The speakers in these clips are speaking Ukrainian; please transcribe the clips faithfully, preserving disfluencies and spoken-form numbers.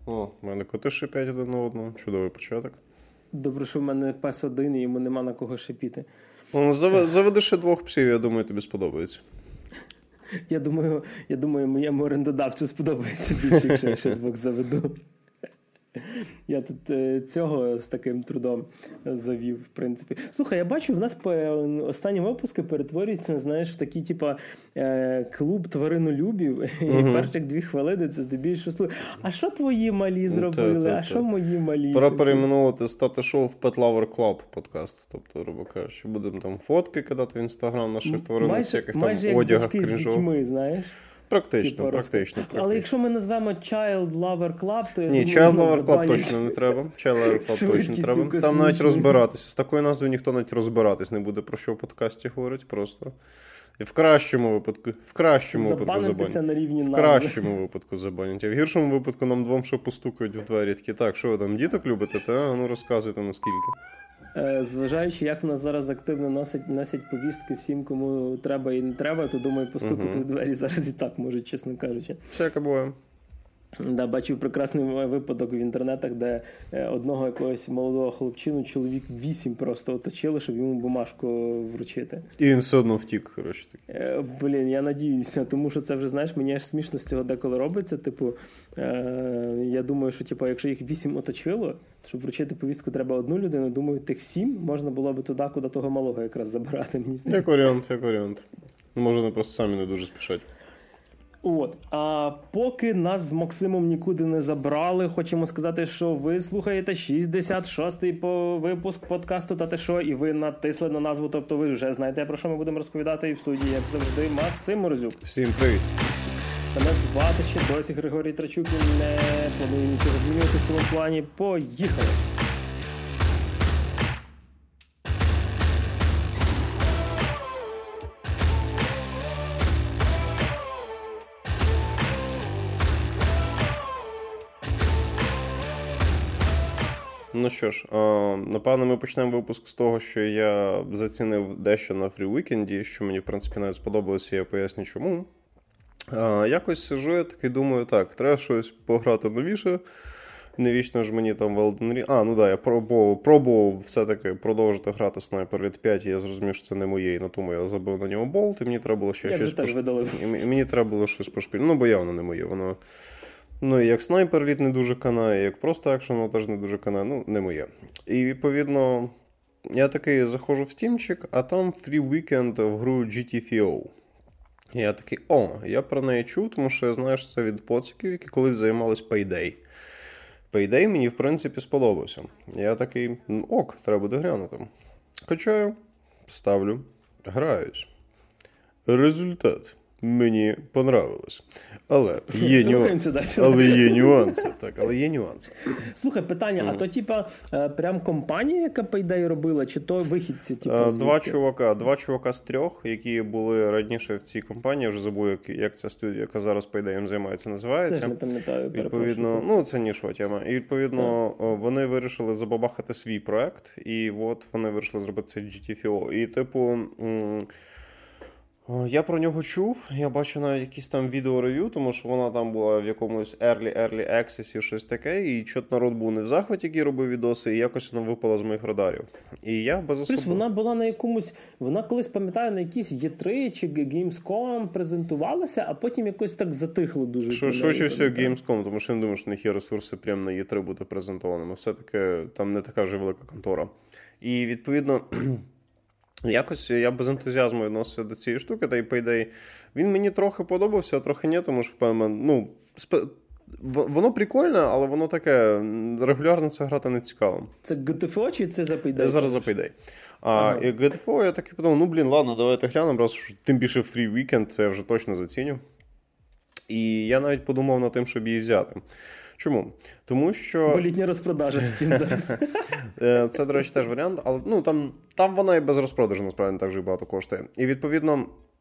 О, в мене коти шипять один на одного. Чудовий початок. Добре, що в мене пес один, і йому нема на кого шипіти. Ну, заведи ще двох псів, я думаю, тобі сподобається. Я думаю, я думаю, моєму орендодавцю сподобається більше, якщо я ще двох заведу. Я тут е, цього з таким трудом завів, в принципі. Слухай, я бачу, в нас по останні випуски перетворюються, знаєш, в такий, типа, е, клуб тваринолюбів. Uh-huh. І перших дві хвилини це здебільшого слухай. А що твої малі зробили? Та, та, та. А що мої малі? Пора перейменувати стати шоу в Pet Lover Club подкаст. Тобто, грубо кажучи, будемо там фотки кидати в Інстаграм наших тваринок, всяких там одягах крінжових. Майже як батьки з дітьми, знаєш. Практично, типу, практично, практично. Але якщо ми назвемо Child Lover Club, то я Ні, думаю, Child Lover Club точно не треба. Child Lover Club точно не треба. Там навіть розбиратися. З такою назвою ніхто навіть розбиратись не буде, про що в подкасті говорить просто. І в кращому випадку, в кращому випадку забанять. На рівні в кращому випадку забанять. А в гіршому випадку нам двом ще постукають в двері. Такі, так, що ви там, діток любите? Та? Ну розказуйте, наскільки. Зважаючи, як в нас зараз активно носять, носять повістки всім, кому треба і не треба, то, думаю, постукати uh-huh. в двері зараз і так можуть, чесно кажучи. Всяке буває. Да, бачив прекрасний випадок в інтернетах, де одного якогось молодого хлопчину чоловік вісім просто оточили, щоб йому бумажку вручити. І він все одно втік, коротше. Е, блін, я надіюся, тому що це вже, знаєш, мені аж смішно з цього деколи робиться. Типу, е, я думаю, що типу, якщо їх вісім оточило, то щоб вручити повістку треба одну людину, думаю, тих сім можна було би туди, куди того малого якраз забирати. Мені здається. Як варіант, як варіант. Може, вони просто самі не дуже спішать. От, а поки нас з Максимом нікуди не забрали, хочемо сказати, що ви слухаєте шістдесят шостий по випуск подкасту «Та ти що?» і ви натисли на назву, тобто ви вже знаєте, про що ми будемо розповідати, і в студії, як завжди, Максим Морозюк. Всім привіт. Мене звати ще досі Григорій Трачук, і не планую нічого змінювати в цьому плані. Поїхали! Ну що ж, напевно, ми почнемо випуск з того, що я зацінив дещо на фрі-вікенді, що мені, в принципі, навіть сподобалося, я поясню чому. Якось сижу, я такий думаю, так, треба щось пограти новіше. Невічно ж мені там в Elden Ring... А, ну да, я пробував, пробував все-таки продовжити грати Sniper Elite п'ять, і я зрозумів, що це не моє, і на тому я забив на нього болт, і мені треба було ще я щось... Пош... І мені треба було щось пошпіль. Ну, бо явно не моє, воно... Ну, і як Sniper Elite не дуже канає, як просто екшен, воно теж не дуже канає, ну, не моє. І, відповідно, я такий заходжу в стімчик, а там Free Weekend в гру джі ті еф о. І я такий, о, я про неї чув, тому що я знаю, що це від поциків, які колись займались Payday. Payday мені, в принципі, сподобався. Я такий, ок, треба буде глянути. Качаю, ставлю, граюсь. Результат. Мені понравилось. Але є, нюан... але є нюанси. Так, але є нюанси. Слухай, питання, mm. а то типа прям компанія, яка Payday робила, чи то вихідці? Типа, два чувака, два чувака з трьох, які були раніше в цій компанії, я вже забув, як, як ця студія, яка зараз Payday займається, називається. Теж не пам'ятаю, відповідно, ну це нішова тема. І відповідно так. Вони вирішили забабахати свій проект, і от вони вирішили зробити це джі ті еф о. І типу... М- Я про нього чув, я бачу навіть якісь там відео-рев'ю, тому що вона там була в якомусь early-early access, щось таке, і чот народ був не в захваті, який робив відоси, і якось вона випала з моїх радарів. І я без особливо... Плюс вона була на якомусь, вона колись, пам'ятаю, на якійсь і три чи Gamescom презентувалася, а потім якось так затихло дуже. Що, що ще все Gamescom, тому що я не думаю, що в них є ресурси прямо на і три бути презентованими. Все-таки там не така вже велика контора. І, відповідно... Якось я без ентузіазму відносився до цієї штуки, та й Payday, він мені трохи подобався, а трохи ні, тому що, впевнено, ну, сп... воно прикольне, але воно таке, регулярно це грати не цікаво. Це джі ті еф о чи це за Payday? Я зараз за Payday. А ага. І джі ті еф о я такий подумав, ну, блін, ладно, давайте глянемо, раз тим більше Free Weekend, це я вже точно заціню. І я навіть подумав над тим, щоб її взяти. Чому? Тому що... Бо літня розпродажа в Steam зараз. Це, до речі, теж варіант, але ну, там, там вона і без розпродажу, насправді, не так же багато коштує. І, відповідно,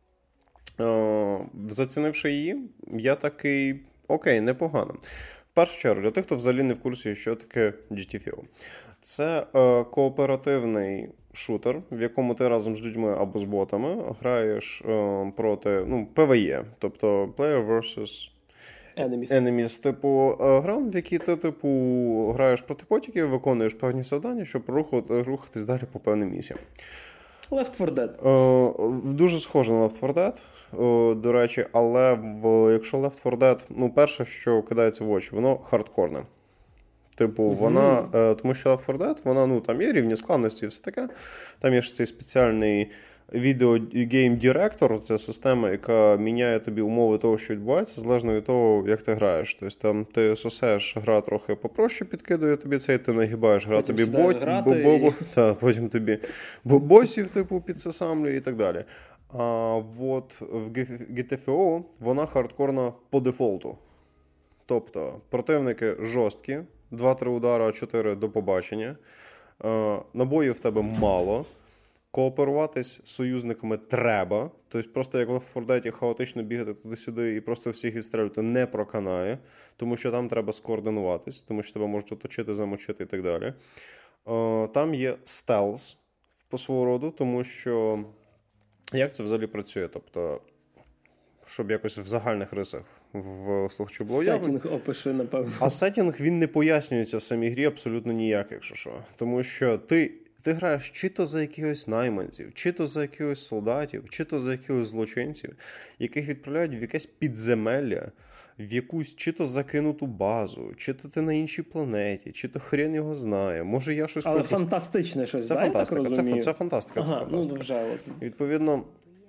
о, зацінивши її, я такий, окей, непогано. В першу чергу, для тих, хто взагалі не в курсі, що таке джі ті еф о. Це е, кооперативний шутер, в якому ти разом з людьми або з ботами граєш е, проти, ну, пі ве і, тобто Player versus Enemies. Enemies, типу, гра, в якій ти, типу, граєш проти потіків, виконуєш певні завдання, щоб рухати, рухатись далі по певним місіям. Left фор Dead. Е, дуже схоже на Left фор Dead, е, до речі, але в, якщо Left фор Dead, ну, перше, що кидається в очі, воно хардкорне. Типу, mm-hmm. вона, е, тому що Left фор Dead, вона, ну, там є рівні складності і все таке. Там є ж цей спеціальний відео-гейм-директор, це система, яка міняє тобі умови того, що відбувається, залежно від того, як ти граєш. Тобто там ти сосеш, гра трохи попроще підкидує тобі цей, ти нагибаєш, гра потім тобі бот, бо, бо, бо, та, потім тобі босів типу підсасамлює і так далі. А от в джі ті еф о вона хардкорна по дефолту. Тобто противники жорсткі, два-три удара, чотири до побачення, набоїв в тебе мало, кооперуватись з союзниками треба. Тобто просто як в Left фор Dead хаотично бігати туди-сюди і просто всіх відстрілювати не проканає, тому що там треба скоординуватись, тому що тебе можуть оточити, замочити і так далі. Там є стелс по свого роду, тому що як це взагалі працює? Тобто, щоб якось в загальних рисах в слухачу було явно. Сеттінг опиши, напевно. А сеттінг, він не пояснюється в самій грі абсолютно ніяк, якщо що. Тому що ти Ти граєш чи то за якихось найманців, чи то за якихось солдатів, чи то за якихось злочинців, яких відправляють в якесь підземелля, в якусь чи то закинуту базу, чи то ти на іншій планеті, чи то хрен його знає. Може я щось... Але пропустив. фантастичне щось, це да, фантастика, я так це, розумію? це фантастика, ага, це фантастика. Ну, вже, от. Відповідно,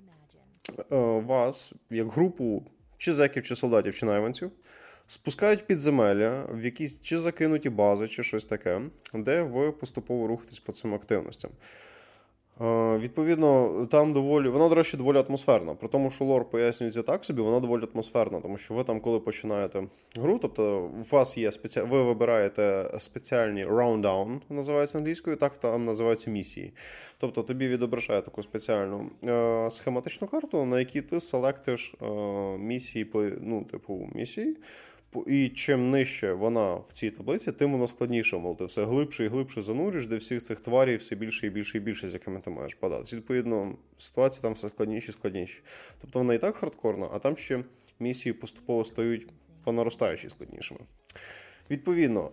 вас, як групу чи зеків, чи солдатів, чи найманців, спускають в підземелля, в якісь чи закинуті бази, чи щось таке, де ви поступово рухаєтесь по цим активностям. Е, відповідно, там доволі, вона, до речі, доволі атмосферна. При тому, що лор пояснюється так собі, вона доволі атмосферна, тому що ви там, коли починаєте гру, тобто у вас є спеці... ви вибираєте спеціальні round-down, називається англійською, так там називаються місії. Тобто тобі відображає таку спеціальну е, схематичну карту, на якій ти селектиш е, місії, по, ну, типу, місії. І чим нижче вона в цій таблиці, тим воно складніше. Мол, ти все глибше і глибше занурюєш, де всіх цих тварів все більше і більше і більше, з якими ти маєш податися. Відповідно, ситуація там все складніші і складніші. Тобто вона і так хардкорна, а там ще місії поступово стають по наростаючій складнішими. Відповідно,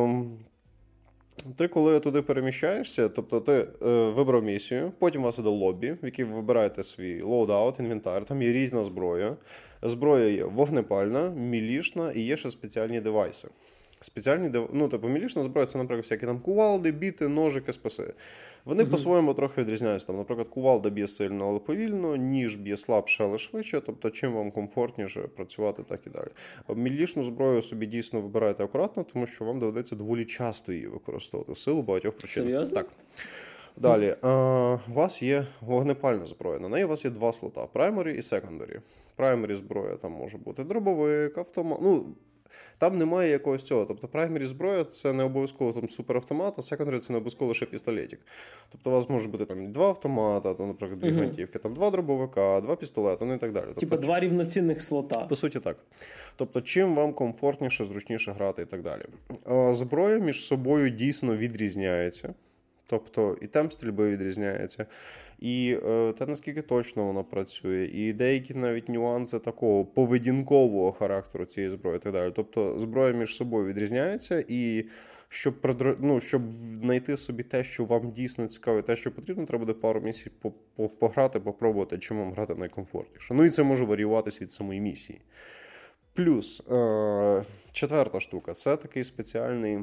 ти коли туди переміщаєшся, тобто ти е, вибрав місію, потім у вас іде лобі, в якій ви вибираєте свій лоудаут, інвентар, там є різна зброя. Зброя є вогнепальна, мілішна і є ще спеціальні девайси. Спеціальні, дев... ну, типу, мілішна зброя – це, наприклад, всякі там кувалди, біти, ножики, списи. Вони mm-hmm. по-своєму трохи відрізняються. Там, наприклад, кувалда б'є сильно, але повільно, ніж б'є слабше, але швидше. Тобто, чим вам комфортніше працювати, так і далі. А мілішну зброю собі дійсно вибирайте акуратно, тому що вам доведеться доволі часто її використовувати в силу багатьох причин. Серйозно? Так. Далі. А, у вас є вогнепальна зброя. На неї у вас є два слота – primary і secondary. Primary зброя там може бути дробовик, автомат. Ну, там немає якогось цього. Тобто primary зброя – це не обов'язково там суперавтомат, а secondary – це не обов'язково лише пістолетик. Тобто у вас може бути там два автомата, там, наприклад, дві гвинтівки, там два дробовика, два пістолета, ну і так далі. Тобто, типа два рівноцінних слота. По суті, так. Тобто, чим вам комфортніше, зручніше грати і так далі. А зброя між собою дійсно відрізняється. Тобто і темп стрільби відрізняється, і е, те, наскільки точно вона працює, і деякі навіть нюанси такого поведінкового характеру цієї зброї і так далі. Тобто зброя між собою відрізняється, і щоб, придр... ну, щоб знайти собі те, що вам дійсно цікаво, те, що потрібно, треба буде пару місій пограти, попробувати, чим вам грати найкомфортніше. Ну і це може варіюватись від самої місії. Плюс е- четверта штука – це такий спеціальний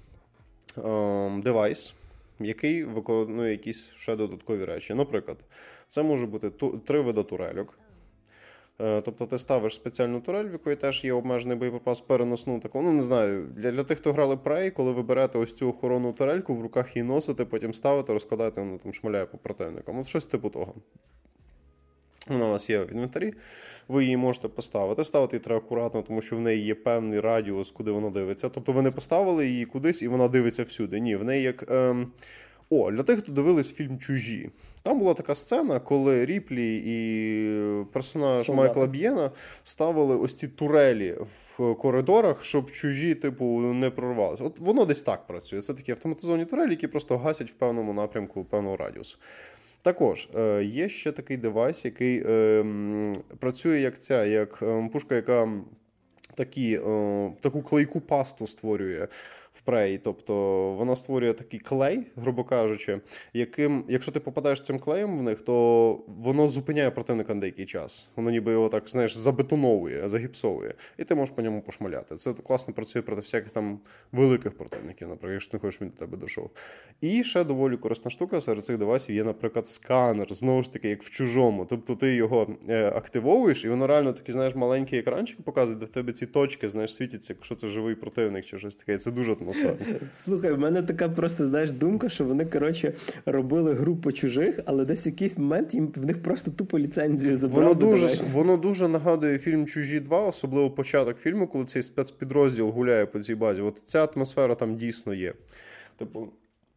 е- девайс, який виконує якісь ще додаткові речі. Наприклад, це може бути ту, три види турельок. Е, тобто ти ставиш спеціальну турель, в якої теж є обмежений боєприпас, переносну таку. Ну, не знаю, для, для тих, хто грали Prey, коли ви берете ось цю охоронну турельку, в руках її носите, потім ставите, розкладаєте, вона там шмаляє по противникам. От щось типу того. Вона у вас є в інвентарі, ви її можете поставити. Ставити її треба акуратно, тому що в неї є певний радіус, куди вона дивиться. Тобто ви не поставили її кудись і вона дивиться всюди. Ні, в неї як... Ем... О, для тих, хто дивились фільм «Чужі». Там була така сцена, коли Ріплі і персонаж Солдати. Майкла Б'єна ставили ось ці турелі в коридорах, щоб чужі, типу, не прорвалися. От воно десь так працює. Це такі автоматизовані турелі, які просто гасять в певному напрямку, певного радіусу. Також е, є ще такий девайс, який е, працює як ця, як е, пушка, яка такі, о, таку клейку пасту створює в Prey. Тобто вона створює такий клей, грубо кажучи, яким, якщо ти попадаєш цим клеєм в них, то воно зупиняє противника на деякий час. Воно ніби його так, знаєш, забетоновує, загіпсовує. І ти можеш по ньому пошмаляти. Це класно працює проти всяких там великих противників, наприклад, якщо ти не хочеш, він до тебе дійшов. І ще доволі корисна штука серед цих девайсів є, наприклад, сканер. Знову ж таки, як в чужому. Тобто ти його е, активовуєш, і воно реально такий, знаєш, маленький екранчик показує, де в тебе ці точки, знаєш, світяться, якщо це живий противник чи щось таке. Це дуже атмосферно. Слухай, в мене така просто, знаєш, думка, що вони, коротше, робили гру по чужих, але десь в якийсь момент їм в них просто тупо ліцензію забрали. Воно дуже, воно дуже нагадує фільм «Чужі два», особливо початок фільму, коли цей спецпідрозділ гуляє по цій базі. От ця атмосфера там дійсно є. Типу,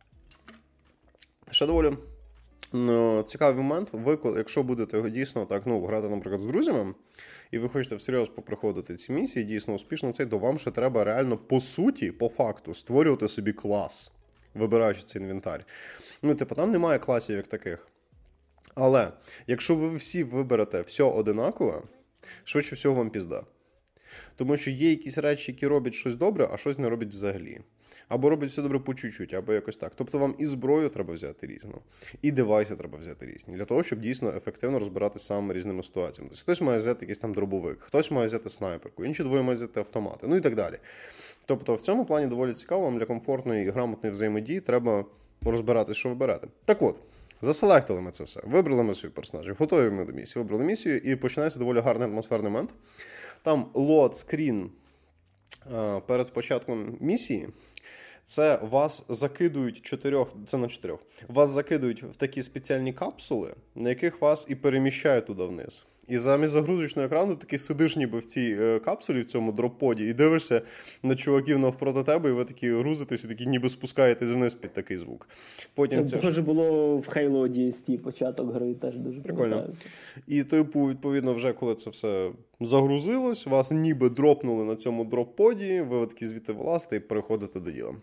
ще доволі ну, цікавий момент. Ви, якщо будете його дійсно так, ну, грати, наприклад, з друзями, і ви хочете всерйоз поприходити ці місії, дійсно успішно цей, то вам ще треба реально, по суті, по факту, створювати собі клас, вибираючи цей інвентар. Ну, типу, там немає класів як таких. Але, якщо ви всі виберете все одинакове, швидше всього вам пізда. Тому що є якісь речі, які роблять щось добре, а щось не роблять взагалі. Або роблять все добре по чуть-чуть, або якось так. Тобто вам і зброю треба взяти різну, і девайси треба взяти різні, для того, щоб дійсно ефективно розбиратися з самими різними ситуаціями. Тобто хтось має взяти якийсь там дробовик, хтось має взяти снайперку, інші двоє мають взяти автомати, ну і так далі. Тобто в цьому плані доволі цікаво, вам для комфортної і грамотної взаємодії треба розбиратися, що вибирати. Так от, заселектили ми це все, вибрали ми свої персонажів, готові ми до місії, вибрали місію, і починається доволі гарний атмосферний момент. Там лоад-скрін перед початком місії. Це вас закидують чотирьох, це на чотирьох, вас закидують в такі спеціальні капсули, на яких вас і переміщають туди вниз. І замість загрузочного екрану ти такий сидиш ніби в цій е, капсулі, в цьому дроп-поді, і дивишся на чуваків навпроти тебе, і ви такі грузитесь, і такі ніби спускаєтесь вниз під такий звук. Потім це похоже було в Halo ді ес ті, початок гри теж дуже прикольно. І типу, відповідно, вже коли це все загрузилось, вас ніби дропнули на цьому дроп-поді, ви такі звідти вилазите і переходите до діла.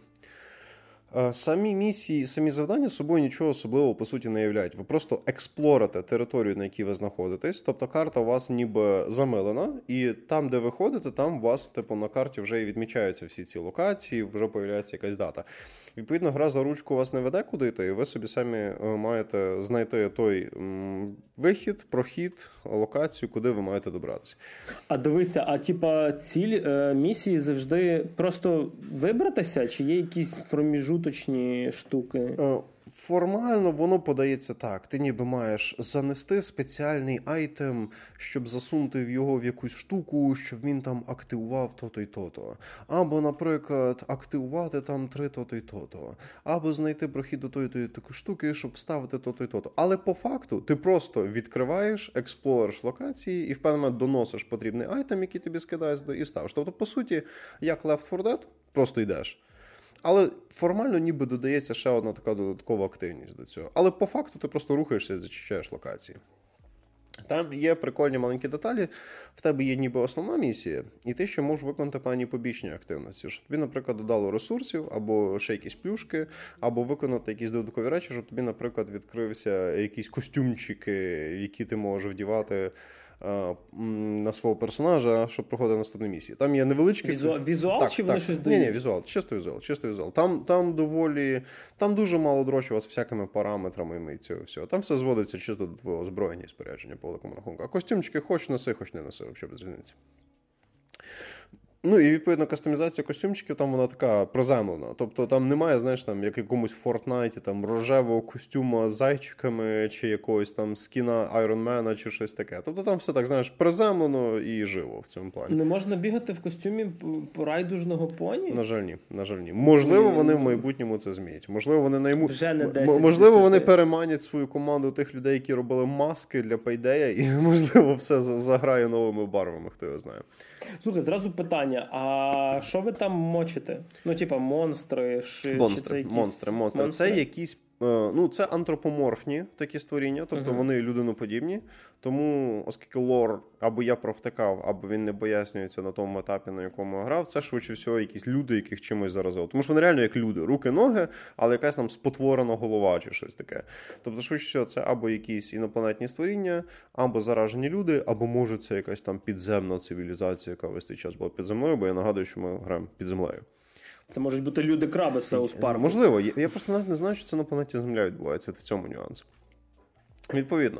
Самі місії, самі завдання собою нічого особливого, по суті, не являють. Ви просто експлорите територію, на якій ви знаходитесь. Тобто карта у вас ніби замилена, і там, де ви ходите, там у вас, типу, на карті вже і відмічаються всі ці локації, вже появляється якась дата. Відповідно, гра за ручку вас не веде куди йти, і ви собі самі маєте знайти той м, вихід, прохід, локацію, куди ви маєте добратися. А дивися, а типа ціль е, місії завжди просто вибратися, чи є якісь проміжуточні штуки? Е, Формально воно подається так. Ти ніби маєш занести спеціальний айтем, щоб засунути в його в якусь штуку, щоб він там активував то-то й то-то. Або, наприклад, активувати там три то-то й то-то. Або знайти прохід до тої тої такої штуки, щоб вставити то-то й то-то. Але по факту ти просто відкриваєш, експлориш локації і в певний момент доносиш потрібний айтем, який тобі скидають, і ставиш. Тобто, по суті, як Left фор Dead, просто йдеш. Але формально ніби додається ще одна така додаткова активність до цього. Але по факту ти просто рухаєшся і зачищаєш локації. Там є прикольні маленькі деталі, в тебе є ніби основна місія, і ти ще можеш виконати певні побічні активності. Щоб тобі, наприклад, додало ресурсів, або ще якісь плюшки, або виконати якісь додаткові речі, щоб тобі, наприклад, відкрився якісь костюмчики, які ти можеш вдівати на свого персонажа, щоб проходити наступні місії. Там є невеличкі... Візуал, візуал так, чи так. вони щось дають? Ні, ні, візуал, чисто візуал, чисто візуал. Там, там доволі, там дуже мало дрочу вас всякими параметрами і цього всього. Там все зводиться чисто до твого озброєння і спорядження по великому рахунку. А костюмчики хоч носи, хоч не носи, взагалі без різниці. Ну і, відповідно, кастомізація костюмчиків там вона така приземлена. Тобто там немає, знаєш, там, як якомусь Фортнайті, там, рожевого костюма з зайчиками, чи якогось там скіна Айронмена, чи щось таке. Тобто там все так, знаєш, приземлено і живо в цьому плані. Не можна бігати в костюмі райдужного поні? На жаль, ні. На жаль, ні. Можливо, вони в майбутньому це зміють. Можливо, вони найму... Вже не десять, Можливо, вони переманять свою команду тих людей, які робили маски для Payday, і, можливо, все заграє новими барвами, хто його знає. Слухай, зразу питання, а що ви там мочите? Ну, типа, монстри, ши, монстри, чи це якісь... монстри, монстри. Монстри? Це якісь ну, це антропоморфні такі створіння, тобто uh-huh. вони людиноподібні. Тому, оскільки лор або я провтикав, або він не пояснюється на тому етапі, на якому я грав, це швидше всього якісь люди, яких чимось заразило. Тому що вони реально як люди. Руки, ноги, але якась там спотворена голова чи щось таке. Тобто, швидше всього, це або якісь інопланетні створіння, або заражені люди, або, може, це якась там підземна цивілізація, яка весь цей час була під землею, бо я нагадую, що ми граємо під землею. Це можуть бути люди-краби з Саус Парку. Можливо. Я просто навіть не знаю, що це на планеті Земля відбувається. В цьому нюанс. Відповідно,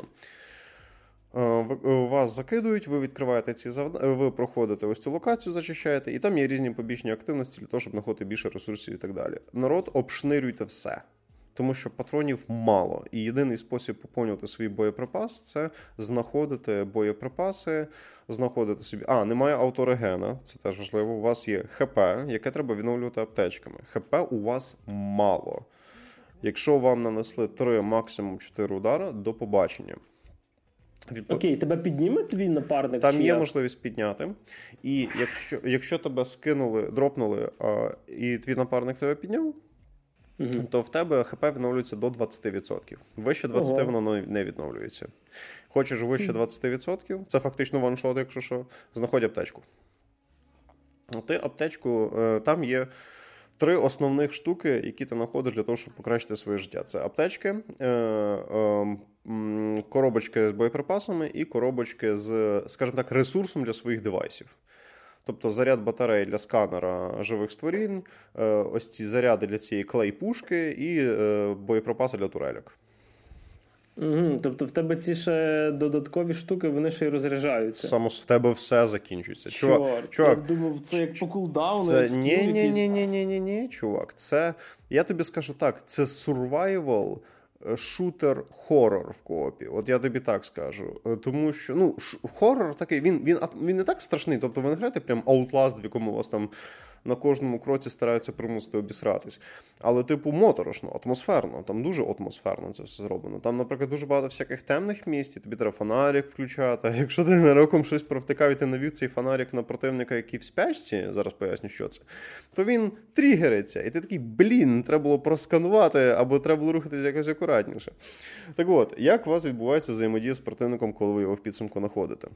вас закидують, ви відкриваєте ці завдання, ви проходите ось цю локацію, зачищаєте, і там є різні побічні активності для того, щоб знаходити більше ресурсів і так далі. Народ, обшнирюйте все. Тому що патронів мало. І єдиний спосіб поповнювати свій боєприпас – це знаходити боєприпаси, знаходити собі... А, немає авторегена, це теж важливо. У вас є ХП, яке треба відновлювати аптечками. ХП у вас мало. Якщо вам нанесли три, максимум чотири удара, до побачення. Відпо... Окей, тебе підніме твій напарник? Там чи є я? можливість підняти. І якщо, якщо тебе скинули, дропнули, а, і твій напарник тебе підняв, угу. то в тебе ХП відновлюється до двадцять відсотків. Вище двадцять відсотків Ого. воно не відновлюється. Хочеш вище двадцять відсотків, це фактично ваншот, якщо що, знаходь аптечку. Ти аптечку, там є три основних штуки, які ти знаходиш для того, щоб покращити своє життя. Це аптечки, коробочки з боєприпасами і коробочки з, скажімо так, ресурсом для своїх девайсів. Тобто заряд батареї для сканера живих створінь, ось ці заряди для цієї клей-пушки і боєприпаси для турельок. Угу, тобто в тебе ці ще додаткові штуки, вони ще й розряджаються. Само в тебе все закінчується. Чувак, чувак, чувак, я думав, це як по кулдауну, це... як ні, ні, ні, ні, ні, ні, ні, чувак. Це, я тобі скажу так, це survival шутер-хоррор в коопі. От я тобі так скажу. Тому що, ну, ш- хоррор такий, він, він, він не так страшний. Тобто ви не граєте прям Outlast, в якому у вас там на кожному кроці стараються примусити обісратись. Але, типу, моторошно, атмосферно. Там дуже атмосферно це все зроблено. Там, наприклад, дуже багато всяких темних місць, тобі треба фонарик включати. А якщо ти ненароком щось провтикав і ти навів цей фонарик на противника, який в спячці, зараз поясню, що це, то він тригериться. І ти такий, блін, треба було просканувати, або треба було рухатись якось акуратніше. Так от, як у вас відбувається взаємодія з противником, коли ви його в підсумку знаходите?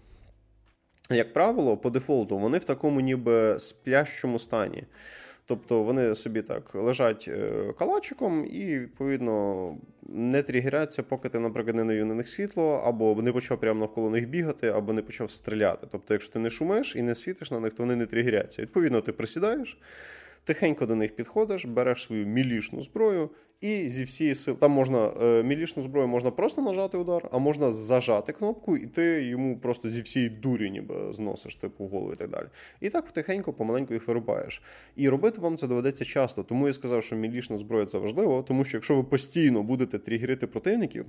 Як правило, по дефолту, вони в такому ніби сплящому стані. Тобто вони собі так лежать калачиком і, відповідно, не тригеряться, поки ти, наприклад, не навів на них світло, або не почав прямо навколо них бігати, або не почав стріляти. Тобто, якщо ти не шумиш і не світиш на них, то вони не тригеряться. Відповідно, ти присідаєш, тихенько до них підходиш, береш свою мілішну зброю і зі всієї сили... Там можна, е, мілішну зброю можна просто нажати удар, а можна зажати кнопку, і ти йому просто зі всієї дурі ніби зносиш, типу, голову і так далі. І так тихенько, помаленьку їх вирубаєш. І робити вам це доведеться часто. Тому я сказав, що мілішна зброя – це важливо, тому що якщо ви постійно будете тригерити противників,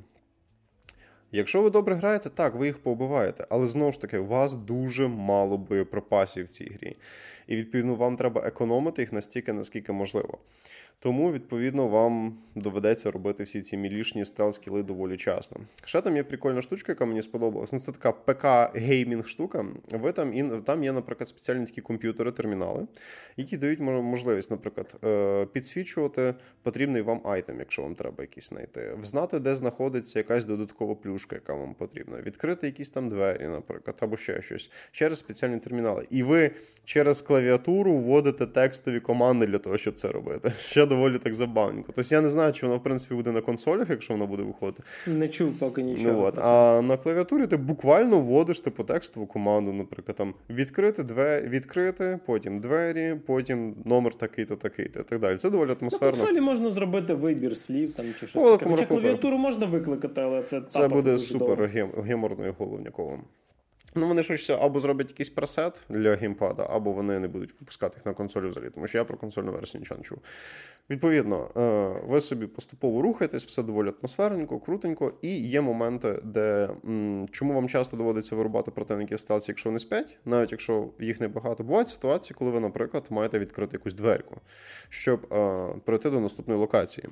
якщо ви добре граєте, так, ви їх поубиваєте, але знову ж таки, у вас дуже мало боєприпасів в цій грі. І, відповідно, вам треба економити їх настільки, наскільки можливо. Тому, відповідно, вам доведеться робити всі ці мілішні стелс-кіли доволі часто. Ще там є прикольна штучка, яка мені сподобалась. Ну, це така ПК-геймінг штука. Ви там, і, там є, наприклад, спеціальні такі комп'ютери, термінали, які дають можливість, наприклад, підсвічувати потрібний вам айтем, якщо вам треба якийсь знайти. Взнати, де знаходиться якась додаткова плюшка, яка вам потрібна. Відкрити якісь там двері, наприклад, або ще щось. Через спеціальні термінали. І ви через клавіатуру вводите текстові команди для того, щоб це робити. Ще доволі так забавненько. Тобто я не знаю, чи вона, в принципі, буде на консолях, якщо вона буде виходити. Не чув поки нічого. Ну, от. А на клавіатурі ти буквально вводиш типу текстову команду, наприклад, там відкрити, двері, відкрити, потім двері, потім номер такий-то, такий-то і так далі. Це доволі атмосферно. На консолі можна зробити вибір слів там, чи щось О, таке. Хоча клавіатуру можна викликати, але це Це буде супер геморною головняковим. Ну, вони щось або зроблять якийсь пресет для геймпада, або вони не будуть випускати їх на консолі взагалі, тому що я про консольну версію нічого не чув. Відповідно, ви собі поступово рухаєтесь, все доволі атмосферненько, крутенько, і є моменти, де, чому вам часто доводиться вирубати противників в стелсі, якщо вони спять, навіть якщо їх небагато. Бувають ситуації, коли ви, наприклад, маєте відкрити якусь дверку, щоб пройти до наступної локації.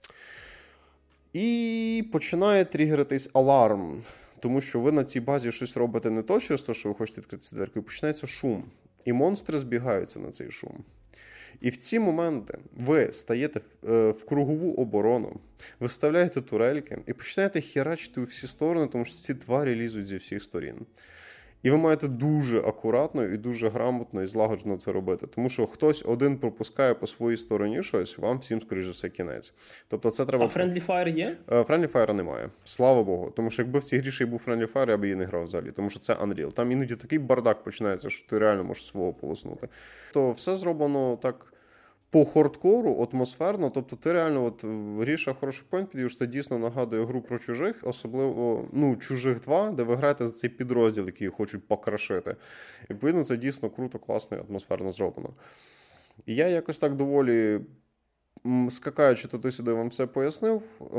І починає тригеритись аларм. Тому що ви на цій базі щось робите не то через те, що ви хочете відкрити ці дверки, і починається шум. І монстри збігаються на цей шум. І в ці моменти ви стаєте в кругову оборону, ви вставляєте турельки і починаєте херачити у всі сторони, тому що ці тварі лізуть зі всіх сторін. І ви маєте дуже акуратно і дуже грамотно і злагоджено це робити. Тому що хтось один пропускає по своїй стороні щось, вам всім, скоріш за все, кінець. Тобто це треба... А Friendly Fire є? Friendly Fire немає. Слава Богу. Тому що якби в цій грі ще й був Friendly Fire, я б її не грав взагалі. Тому що це Unreal. Там іноді такий бардак починається, що ти реально можеш свого полоснути. То все зроблено так... по хардкору, атмосферно, тобто ти реально, от Гріша хороший пойнт підвів, це дійсно нагадує гру про чужих, особливо, ну, Чужих два, де ви граєте за цей підрозділ, який хочуть покрашити. І, відповідно, це дійсно круто, класно і атмосферно зроблено. І я якось так доволі, скакаючи туди-сюди, вам все пояснив,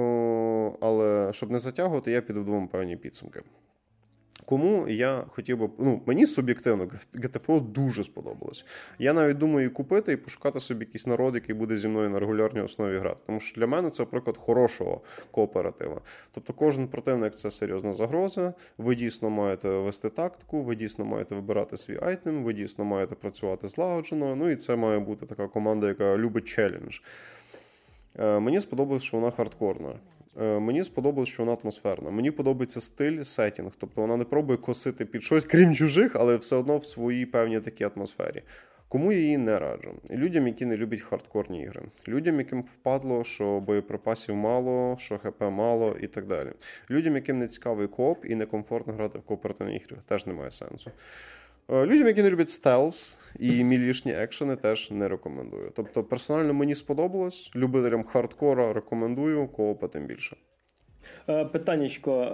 але щоб не затягувати, я підведу вам певні підсумки. Кому я хотів би... Ну, мені суб'єктивно джі ті еф о дуже сподобалось. Я навіть думаю її купити і пошукати собі якийсь народ, який буде зі мною на регулярній основі грати. Тому що для мене це приклад хорошого кооператива. Тобто кожен противник – це серйозна загроза, ви дійсно маєте вести тактику, ви дійсно маєте вибирати свій айтем, ви дійсно маєте працювати злагоджено, ну і це має бути така команда, яка любить челендж. Мені сподобалось, що вона хардкорна. Мені сподобалось, що вона атмосферна. Мені подобається стиль, сеттінг. Тобто вона не пробує косити під щось, крім чужих, але все одно в своїй певній такій атмосфері. Кому я її не раджу? Людям, які не люблять хардкорні ігри. Людям, яким впадло, що боєприпасів мало, що ХП мало і так далі. Людям, яким не цікавий кооп і некомфортно грати в кооперативні ігри, теж немає сенсу. Людям, які не люблять стелс і мілішні екшени, теж не рекомендую. Тобто, персонально мені сподобалось, любителям хардкора рекомендую, коопа тим більше. Питаннячко,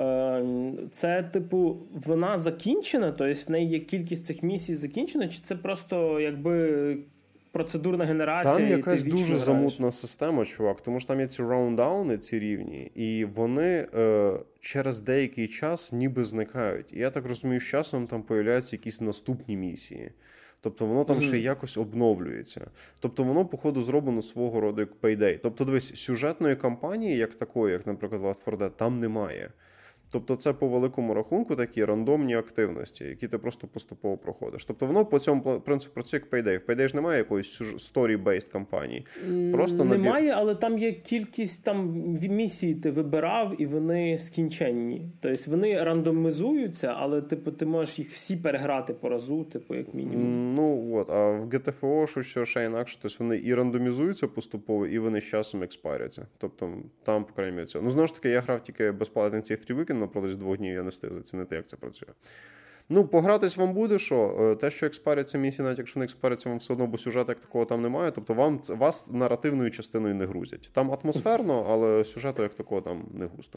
це, типу, вона закінчена? Тобто в неї є кількість цих місій закінчена? Чи це просто, якби... процедурна генерація? Там якась дуже граєш. замутна система, чувак, тому що там є ці раундауни, ці рівні, і вони е, через деякий час ніби зникають. І я так розумію, з часом там появляються якісь наступні місії. Тобто воно там mm-hmm. ще якось обновлюється. Тобто воно, походу, зроблено свого роду як Payday. Тобто, дивись, сюжетної кампанії, як такої, як, наприклад, Left фор Dead, там немає. Тобто це по великому рахунку такі рандомні активності, які ти просто поступово проходиш. Тобто воно по цьому принципу працює як Payday. В Payday ж немає якоїсь story-based кампанії. Просто немає, набір... але там є кількість там місій ти вибирав, і вони скінченні. Тобто вони рандомізуються, але типу ти можеш їх всі переграти по разу, типу як мінімум. Ну от, а в джі ті еф о що ще інакше, тобто вони і рандомізуються поступово, і вони з часом експаряться. Тобто там, по крайній мірі, цього. Ну, знову ж таки, я грав тільки безплатний цей Free Weekend, напротязі двох днів я не встиг зацінити, як це працює. Ну, погратись вам буде, що те, що експаряться місії, навіть якщо не експаряться, вам все одно, бо сюжету як такого там немає, тобто вам, вас наративною частиною не грузять. Там атмосферно, але сюжету як такого там не густо.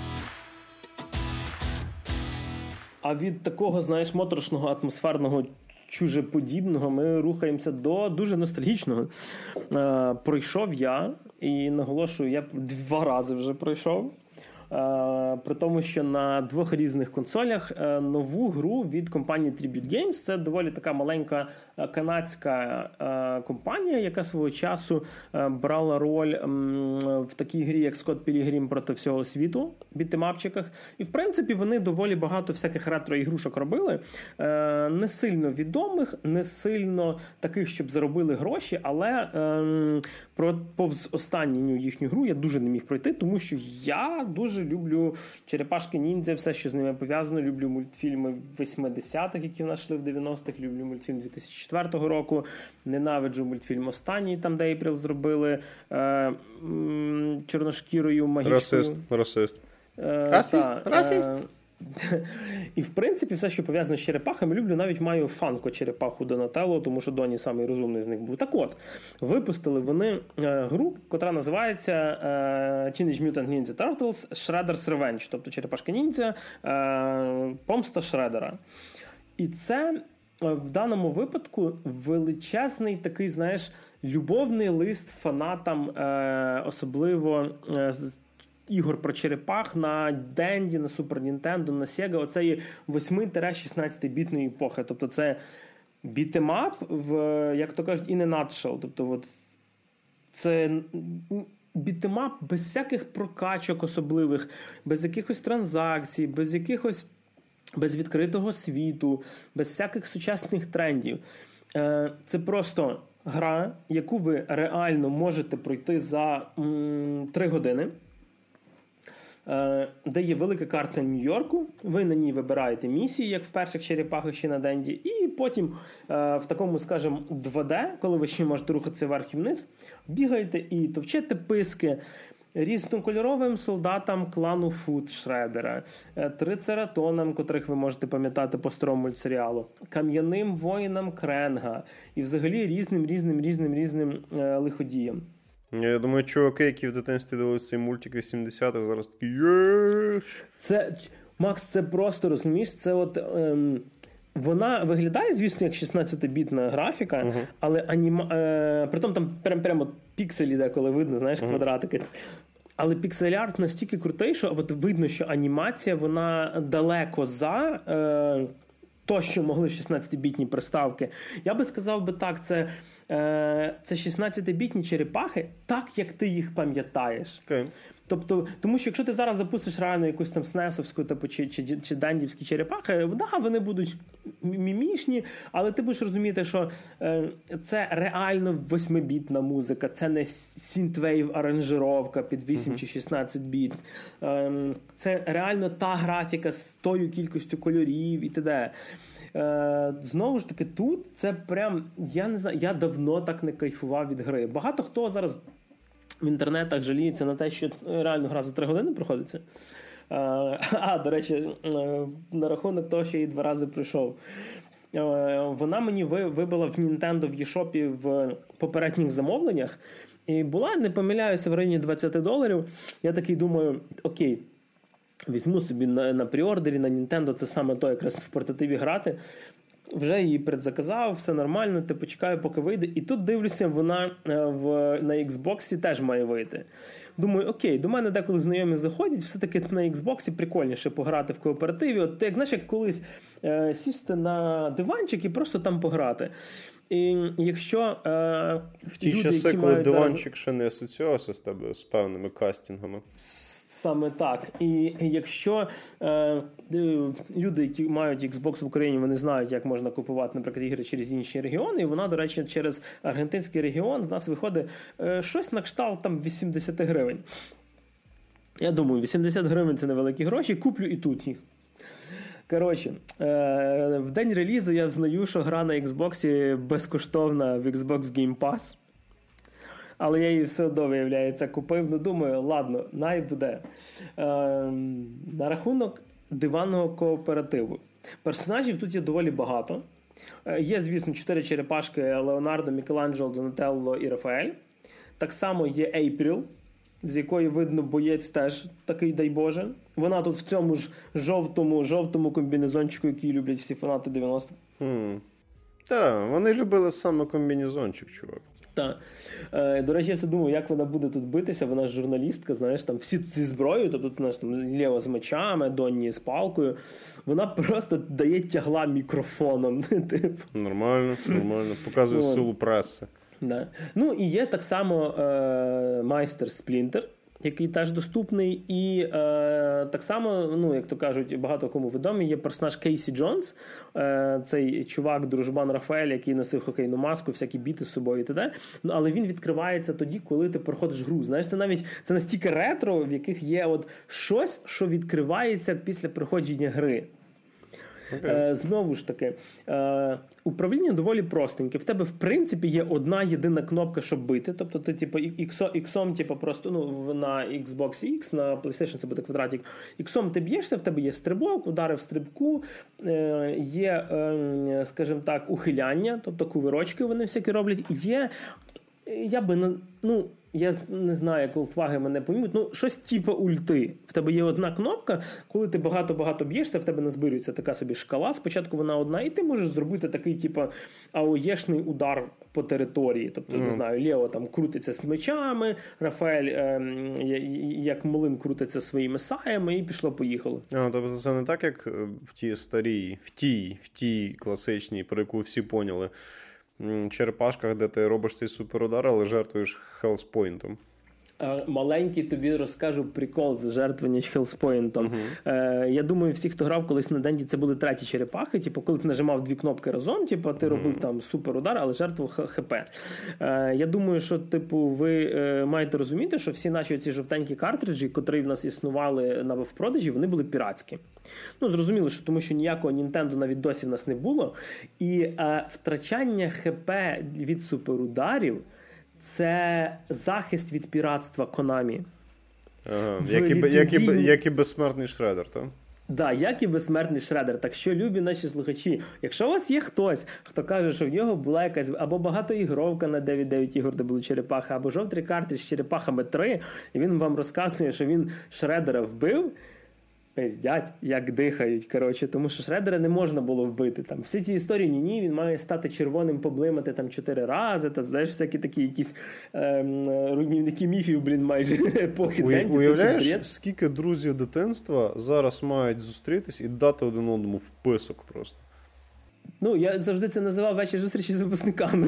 А від такого, знаєш, моторошного, атмосферного, чужеподібного ми рухаємося до дуже ностальгічного. Е, пройшов я, і наголошую, я два рази вже пройшов. При тому, що на двох різних консолях нову гру від компанії Tribute Games. Це доволі така маленька канадська компанія, яка свого часу брала роль в такій грі, як Scott Pilgrim проти всього світу, бітемапчиках. І, в принципі, вони доволі багато всяких ретро-ігрушок робили. Не сильно відомих, не сильно таких, щоб заробили гроші, але про повз останню їхню гру я дуже не міг пройти, тому що я дуже люблю Черепашки-ніндзя, все, що з ними пов'язано. Люблю мультфільми восьмидесятих, які в нас йшли в дев'яностих. Люблю мультфільм дві тисячі четвертого року. Ненавиджу мультфільм останній, там де Ейприл зробили е, м, чорношкірою магічною. Расист, расист. Е, расист, та, расист. Е, і, в принципі, все, що пов'язано з черепахами, люблю. Навіть маю фанко-черепаху Донателло, тому що Доні самий розумний з них був. Так от, випустили вони е, гру, котра називається е, Teenage Mutant Ninja Turtles Shredder's Revenge, тобто Черепашки-ніндзя, е, помста Шредера. І це в даному випадку величезний такий, знаєш, любовний лист фанатам, е, особливо е, ігор про черепах на Денді, на Супер Нінтендо, на Sega, оцеї восьми-шістнадцятибітної епохи. Тобто це бітемап, в, як то кажуть, in a nutshell. Тобто от, це бітемап без всяких прокачок особливих, без якихось транзакцій, без якихось, без відкритого світу, без всяких сучасних трендів. Це просто гра, яку ви реально можете пройти за три години, де є велика карта Нью-Йорку, ви на ній вибираєте місії, як в перших черепахах ще на Денді, і потім в такому, скажімо, два де, коли ви ще можете рухатися вверх і вниз, бігаєте і товчете писки різнокольоровим солдатам клану Фут Шредера, трицератонам, котрих ви можете пам'ятати по старому мультсеріалу, кам'яним воїнам Кренга і взагалі різним, різним, різним, різним е, лиходіям. Я думаю, чуваки, які в дитинстві дивилися цей мультик вісімдесятих, зараз такі єш! Це, Макс, це просто, розумієш, це от... Ем... Вона виглядає, звісно, як шістнадцятибітна графіка, uh-huh. але аніма... Е, притом там прям, прямо пікселі деколи видно, знаєш, uh-huh. квадратики. Але піксель-арт настільки крутий, що от видно, що анімація, вона далеко за е, то, що могли шістнадцятибітні приставки. Я би сказав би так, це, е, це шістнадцятибітні черепахи, так, як ти їх пам'ятаєш. Okay. Тобто, тому що якщо ти зараз запустиш реально якусь там снесовську типу, чи, чи, чи дендівські черепахи, да, вони будуть мімішні, але ти будеш розуміти, що е, це реально восьмибітна музика, це не синтвейв-аранжировка під вісім uh-huh. чи шістнадцять біт. Е, це реально та графіка з тою кількістю кольорів і т.д. Е, знову ж таки, тут це прям, я не знаю, я давно так не кайфував від гри. Багато хто зараз в інтернетах жаліється на те, що реально гра за три години проходиться. А, а, до речі, на рахунок того, що я її два рази пройшов. Вона мені вибила в Nintendo в eShop в попередніх замовленнях. І була, не помиляюся, в районі двадцять доларів. Я такий думаю, окей, візьму собі на, на пріордері, на Nintendo, це саме то, якраз в портативі грати. Вже її предзаказав, все нормально, ти почекаю, поки вийде. І тут, дивлюся, вона в, на Xbox теж має вийти. Думаю, окей, до мене деколи знайомі заходять, все-таки на Xbox прикольніше пограти в кооперативі. От ти, як, знаєш, як колись е, сісти на диванчик і просто там пограти. І якщо е, в ті люди, часи, які коли мають диванчик зараз... ще не асоціювався з тебе з певними кастингами. Саме так. І якщо е, люди, які мають Xbox в Україні, вони знають, як можна купувати, наприклад, ігри через інші регіони, і вона, до речі, через аргентинський регіон в нас виходить е, щось на кшталт там вісімдесят гривень. Я думаю, вісімдесят гривень – це невеликі гроші, куплю і тут їх. Коротше, е, в день релізу я взнаю, що гра на Xbox безкоштовна в Xbox Game Pass. Але я її все одно, виявляється, купив. Ну, думаю, ладно, най буде. Е, на рахунок диванного кооперативу. Персонажів тут є доволі багато. Е, є, звісно, чотири черепашки: Леонардо, Мікеланджело, Донателло і Рафаель. Так само є Ейпріл, з якої видно боєць теж такий, дай Боже. Вона тут в цьому ж жовтому, жовтому комбінезончику, який люблять всі фанати дев'яностих. Mm. Так, вони любили саме комбінезончик, чувак. Так. Е, до речі, я все думав, як вона буде тут битися. Вона ж журналістка, знаєш, там всі зі зброєю, тобто тут, знаєш, там Лео з мечами, Донні з палкою. Вона просто дає тягла мікрофоном. Нормально, нормально. Показує ну, силу преси. Да. Ну, і є так само е, майстер Сплінтер, який теж доступний, і е, так само, ну, як то кажуть, багато кому відомий, є персонаж Кейсі Джонс, е, цей чувак, дружбан Рафаель, який носив хокейну маску, всякі біти з собою і т.д. Ну, але він відкривається тоді, коли ти проходиш гру. Знаєш, це навіть це настільки ретро, в яких є от щось, що відкривається після проходження гри. Okay. Е, знову ж таки, е, управління доволі простеньке. В тебе, в принципі, є одна єдина кнопка, щоб бити. Тобто ти, типу, іксом, типу, просто, ну, на Xbox X, на PlayStation це буде квадратик. Іксом ти б'єшся, в тебе є стрибок, удари в стрибку, е, є, е, скажімо так, ухиляння, тобто кувирочки вони всякі роблять. Є, я би, ну, я не знаю, як ултваги мене поймуть, ну, щось типу ульти. В тебе є одна кнопка, коли ти багато-багато б'єшся, в тебе назбирюється така собі шкала, спочатку вона одна, і ти можеш зробити такий, типу, аоєшний удар по території. Тобто, mm. не знаю, Лео там крутиться з мечами, Рафаель, е, як млин, крутиться своїми саями, і пішло-поїхало. А, тобто це не так, як в тій старій, в тій, в тій класичній, про яку всі поняли, черепашках, де ти робиш цей суперудар, але жертвуєш хелспойнтом. Маленький тобі розкажу прикол з жертвування Хелспойнтом. Uh-huh. Е, я думаю, всі, хто грав колись на Денді, це були треті черепахи. Типу, коли ти нажимав дві кнопки разом, типу, ти uh-huh. робив там супер удар, але жертвував ХП. Е, я думаю, що типу, ви е, маєте розуміти, що всі наші ці жовтенькі картриджі, котрі в нас існували на в продажі, вони були піратські. Ну, зрозуміло, що тому що ніякого Nintendo на відосі в нас не було. І е, втрачання ХП від суперударів це захист від піратства Konami. Ага, як, і, як, і, як і безсмертний Шредер, так? Да, як і безсмертний Шредер. Так що, любі наші слухачі, якщо у вас є хтось, хто каже, що в нього була якась або багатоігровка на дев'ять дев'ять ігор, де були черепахи, або жовтий картридж з черепахами три, і він вам розказує, що він Шредера вбив, пиздять, як дихають, коротше, тому що Шредера не можна було вбити. Там всі ці історії, ні-ні, він має стати червоним, поблимати там чотири рази, там, знаєш, всякі такі якісь ем, руйнівники міфів, блін, майже епохи Денді. Уявляєш, скільки друзів дитинства зараз мають зустрітись і дати один одному вписок просто? Ну, я завжди це називав вечір зустрічі з випускниками.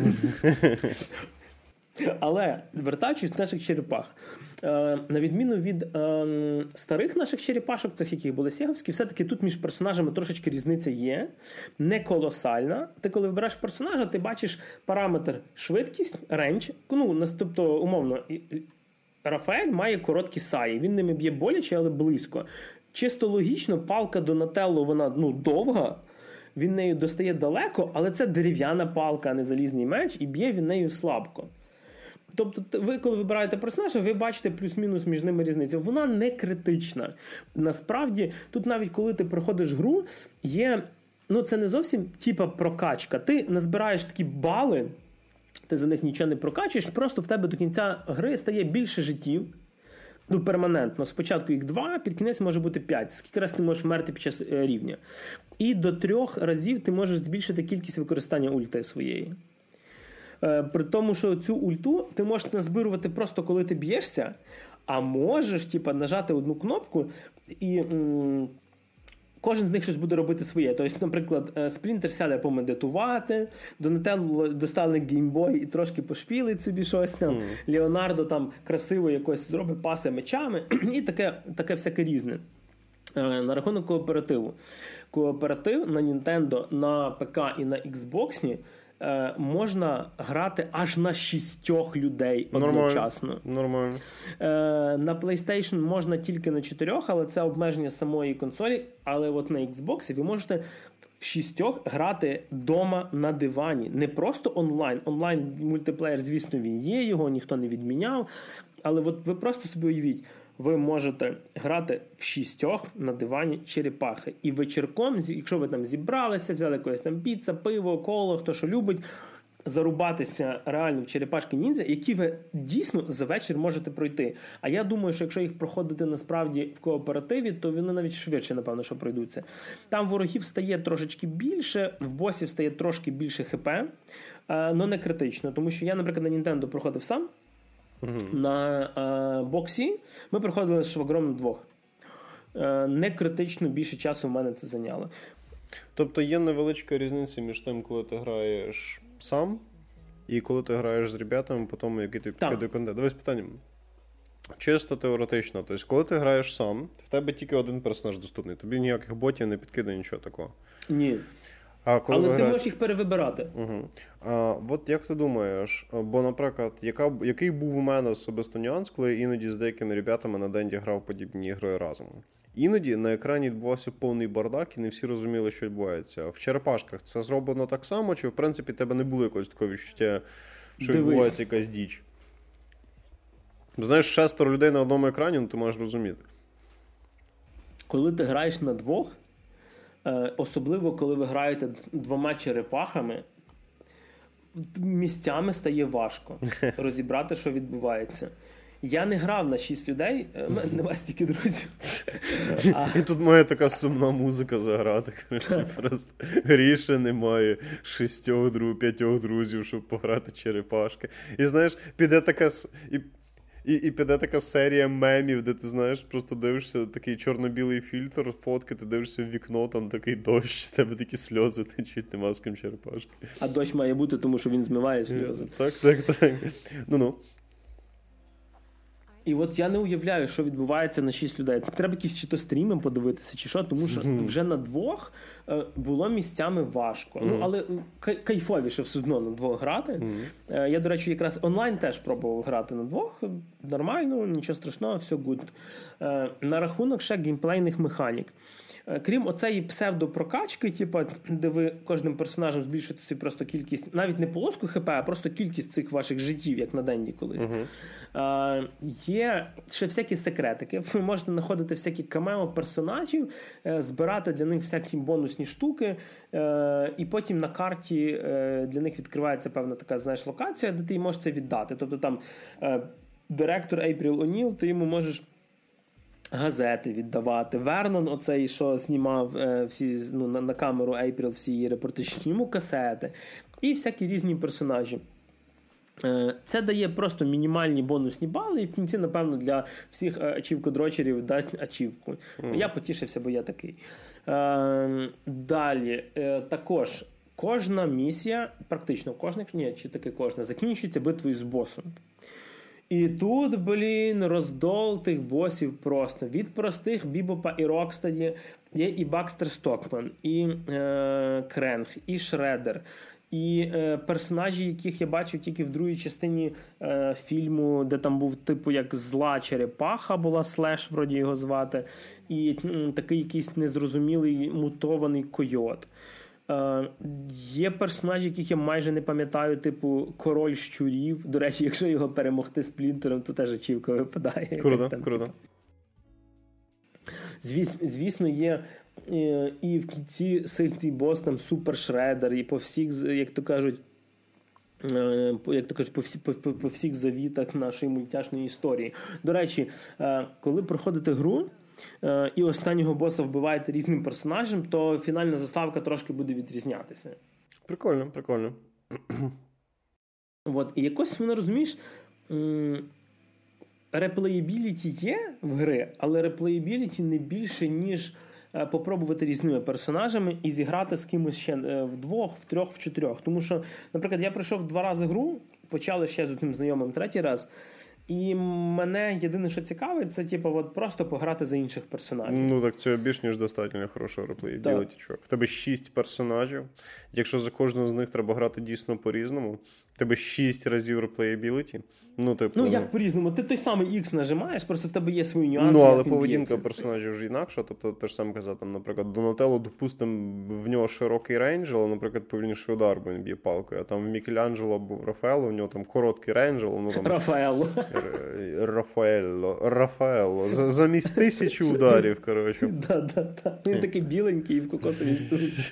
Але, вертаючись до наших черепах, е, на відміну від е, старих наших черепашок, цих, яких були сєговські, все-таки тут між персонажами трошечки різниця є, не колосальна. Ти, коли вибираєш персонажа, ти бачиш параметр швидкість, рейндж, ну, тобто, умовно, Рафаель має короткі саї, він ними б'є боляче, але близько. Чисто логічно, палка Донателло, вона, ну, довга, він нею достає далеко, але це дерев'яна палка, а не залізний меч, і б'є він нею слабко. Тобто ви, коли вибираєте персонажа, ви бачите плюс-мінус між ними різницю. Вона не критична. Насправді, тут навіть коли ти проходиш гру, є, ну це не зовсім типа прокачка. Ти назбираєш такі бали, ти за них нічого не прокачуєш, просто в тебе до кінця гри стає більше життів. Ну, перманентно. Спочатку їх два, під кінець може бути п'ять. Скільки раз ти можеш вмерти під час е, рівня. І до трьох разів ти можеш збільшити кількість використання ульти своєї. Е, при тому, що цю ульту ти можеш назбирувати просто коли ти б'єшся, а можеш типа, нажати одну кнопку і м- кожен з них щось буде робити своє. Тобто, наприклад, Сплінтер сяде помедитувати, Донателло достане геймбой і трошки пошпілить собі щось там, mm. Леонардо там красиво якось зробить паси мечами і таке, таке всяке різне. На рахунок кооперативу. Кооператив на Nintendo, на ПК і на Xbox можна грати аж на шістьох людей одночасно. Нормально. Нормально. На PlayStation можна тільки на чотирьох, але це обмеження самої консолі. Але от на Xbox ви можете в шістьох грати дома на дивані. Не просто онлайн. Онлайн-мультиплеєр, звісно, він є, його ніхто не відміняв. Але от ви просто собі уявіть, ви можете грати в шістьох на дивані черепахи. І вечірком, якщо ви там зібралися, взяли якоїсь там піца, пиво, коло, хто що любить, зарубатися реально в черепашки-ніндзя, які ви дійсно за вечір можете пройти. А я думаю, що якщо їх проходити насправді в кооперативі, то вони навіть швидше, напевно, що пройдуться. Там ворогів стає трошечки більше, в босів стає трошки більше хп, але не критично. Тому що я, наприклад, на Nintendo проходив сам, Uh-huh. на е, боксі ми проходили з швагром на двох. Е, не критично більше часу в мене це зайняло. Тобто є невеличка різниця між тим, коли ти граєш сам і коли ти граєш з ребятами по тому, який ти підкидає контент. Давай з питанням. Чисто теоретично. Тобто, коли ти граєш сам, в тебе тільки один персонаж доступний. Тобі ніяких ботів не підкидає, нічого такого. Ні. А коли Але ти гра... можеш їх перевибирати. Угу. А от як ти думаєш, бо, наприклад, яка, який був у мене особисто нюанс, коли я іноді з деякими ребятами на Денді грав подібні ігри разом? Іноді на екрані відбувався повний бардак і не всі розуміли, що відбувається. В черепашках це зроблено так само, чи в принципі тебе не було якогось такого відчуття, що Дивись. відбувається якась діч? Знаєш, шестеро людей на одному екрані, ну ти маєш розуміти. Коли ти граєш на двох, особливо, коли ви граєте двома черепахами, місцями стає важко розібрати, що відбувається. Я не грав на шість людей, в мене немає стільки друзів. А... І тут має така сумна музика заграти. Просто Гріша немає шістьох, друг, п'ятьох друзів, щоб пограти черепашки. І знаєш, піде така... І... І, і піде така серія мемів, де ти, знаєш, просто дивишся такий чорно-білий фільтр, фотки, ти дивишся в вікно, там такий дощ, тебе такі сльози течуть, нема з ким черепашки. А дощ має бути, тому що він змиває сльози. Так, так, так. Ну-ну. І от я не уявляю, що відбувається на шість людей. Треба якісь чи то стріми подивитися, чи що, тому що mm-hmm. вже на двох е, було місцями важко. Mm-hmm. Ну, але кай- кайфовіше все одно на двох грати. Mm-hmm. Е, я, до речі, якраз онлайн теж пробував грати на двох. Нормально, нічого страшного, все гуд. Е, на рахунок ще геймплейних механік. Крім оцеї псевдопрокачки, типу, де ви кожним персонажем збільшуєте собі просто кількість, навіть не полоску ХП, а просто кількість цих ваших життів, як на Денді колись. Uh-huh. А, є ще всякі секретики. Ви можете знаходити всякі камео персонажів, збирати для них всякі бонусні штуки, і потім на карті для них відкривається певна така, знаєш, локація, де ти їм можеш це віддати. Тобто там директор Ейпріл О'Ніл, ти йому можеш газети віддавати. Вернон, оцей, що знімав е, всі, ну, на, на камеру Ейпріл всі її репортажі, йому касети. І всякі різні персонажі. Е, це дає просто мінімальні бонусні бали, і в кінці, напевно, для всіх ачівкодрочерів дасть ачівку. Mm. Я потішився, бо я такий. Е, далі. Е, також кожна місія, практично кожна, ні, чи таки кожна, закінчується битвою з босом. І тут, блін, роздол тих босів просто. Від простих Бібопа і Рокстаді є і Бакстер Стокман, і е, Кренг, і Шредер, і е, персонажі, яких я бачив тільки в другій частині е, фільму, де там був типу як зла черепаха була, Слеш, вроді його звати, і м, такий якийсь незрозумілий мутований койот. Uh, є персонажі, яких я майже не пам'ятаю, типу Король щурів. До речі, якщо його перемогти Сплінтером, то теж ачівка випадає. Круто, там, круто. Звіс, звісно, є і, і в кінці сильний бос, там Супер Шредер, і по всіх, як то кажуть, як то кажуть, по, всі, по, по всіх завітах нашої мультяшної історії. До речі, коли проходите гру, і останнього боса вбиваєте різним персонажем, то фінальна заставка трошки буде відрізнятися. Прикольно, прикольно. От, і якось, воно, розумієш, реплеєбіліті є в гри, але реплеєбіліті не більше, ніж попробувати різними персонажами і зіграти з кимось ще вдвох, в трьох, в чотирьох. Тому що, наприклад, я пройшов два рази гру, почали ще з одним знайомим третій раз, і мене єдине, що цікавить, це типу, от просто пограти за інших персонажів. Ну так це більш ніж достатньо хорошого реплеєбіліті. В тебе шість персонажів. Якщо за кожного з них треба грати дійсно по-різному, в тебе шість разів реплеєбіліті. Ну, типу, ну, як по-різному? Ти той самий X нажимаєш, просто в тебе є свої нюанси. Ну, але поведінка персонажів ж інакша. Тобто, те ж саме казав, там, наприклад, Донателло, допустимо, в нього широкий рейндж, але, наприклад, повільніший удар, бо він б'є палкою. А там в Мікеланджело або в Рафаелло, в нього там короткий рейндж, але, ну, там... Рафаелло. Рафаелло. Рафаелло. Замість тисячі ударів, коротше. Да-да-да. Він такий біленький і в кокосовій стружці.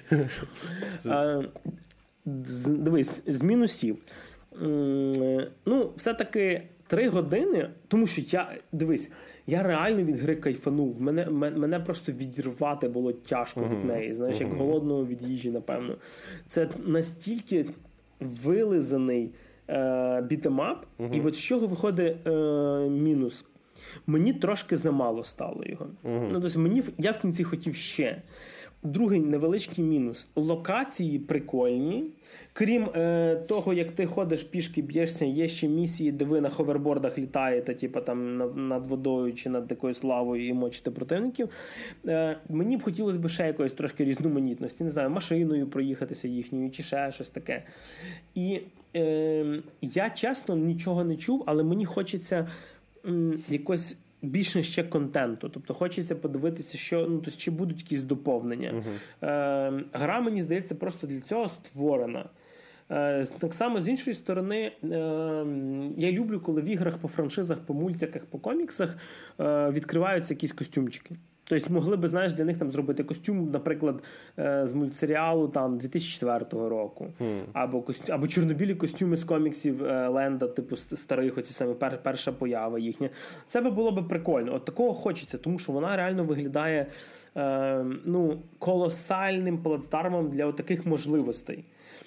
Дивись, з мінусів. Ну, все-таки три години, тому що я, дивись, я реально від гри кайфанув. Мене, мене просто відірвати було тяжко uh-huh. від неї, знаєш, uh-huh. як голодного від їжі, напевно. Це настільки вилизаний е, бітемап, uh-huh. і от з чого виходить е, мінус. Мені трошки замало стало його. Uh-huh. Ну, тобто мені, я в кінці хотів ще. Другий невеличкий мінус. Локації прикольні. Крім е, того, як ти ходиш пішки, б'єшся, є ще місії, де ви на ховербордах літаєте, типу там над, над водою чи над якоюсь лавою і мочите противників. Е, мені б хотілося б ще якоїсь трошки різноманітності. Не знаю, машиною проїхатися їхньою чи ще щось таке. І е, я чесно нічого не чув, але мені хочеться м, якось більше ще контенту. Тобто хочеться подивитися, що, ну, тобто, чи будуть якісь доповнення. Uh-huh. Е, гра, мені здається, просто для цього створена. Е, так само, з іншої сторони, е, я люблю, коли в іграх по франшизах, по мультиках, по коміксах е, відкриваються якісь костюмчики. Тобто могли би, знаєш, для них там зробити костюм, наприклад, з мультсеріалу там дві тисячі четвертого року. Mm. Або, костю... Або чорнобілі костюми з коміксів Ленда, типу старих, оці саме пер... перша поява їхня. Це би було би прикольно. От такого хочеться, тому що вона реально виглядає е, ну, колосальним плацдармом для таких можливостей.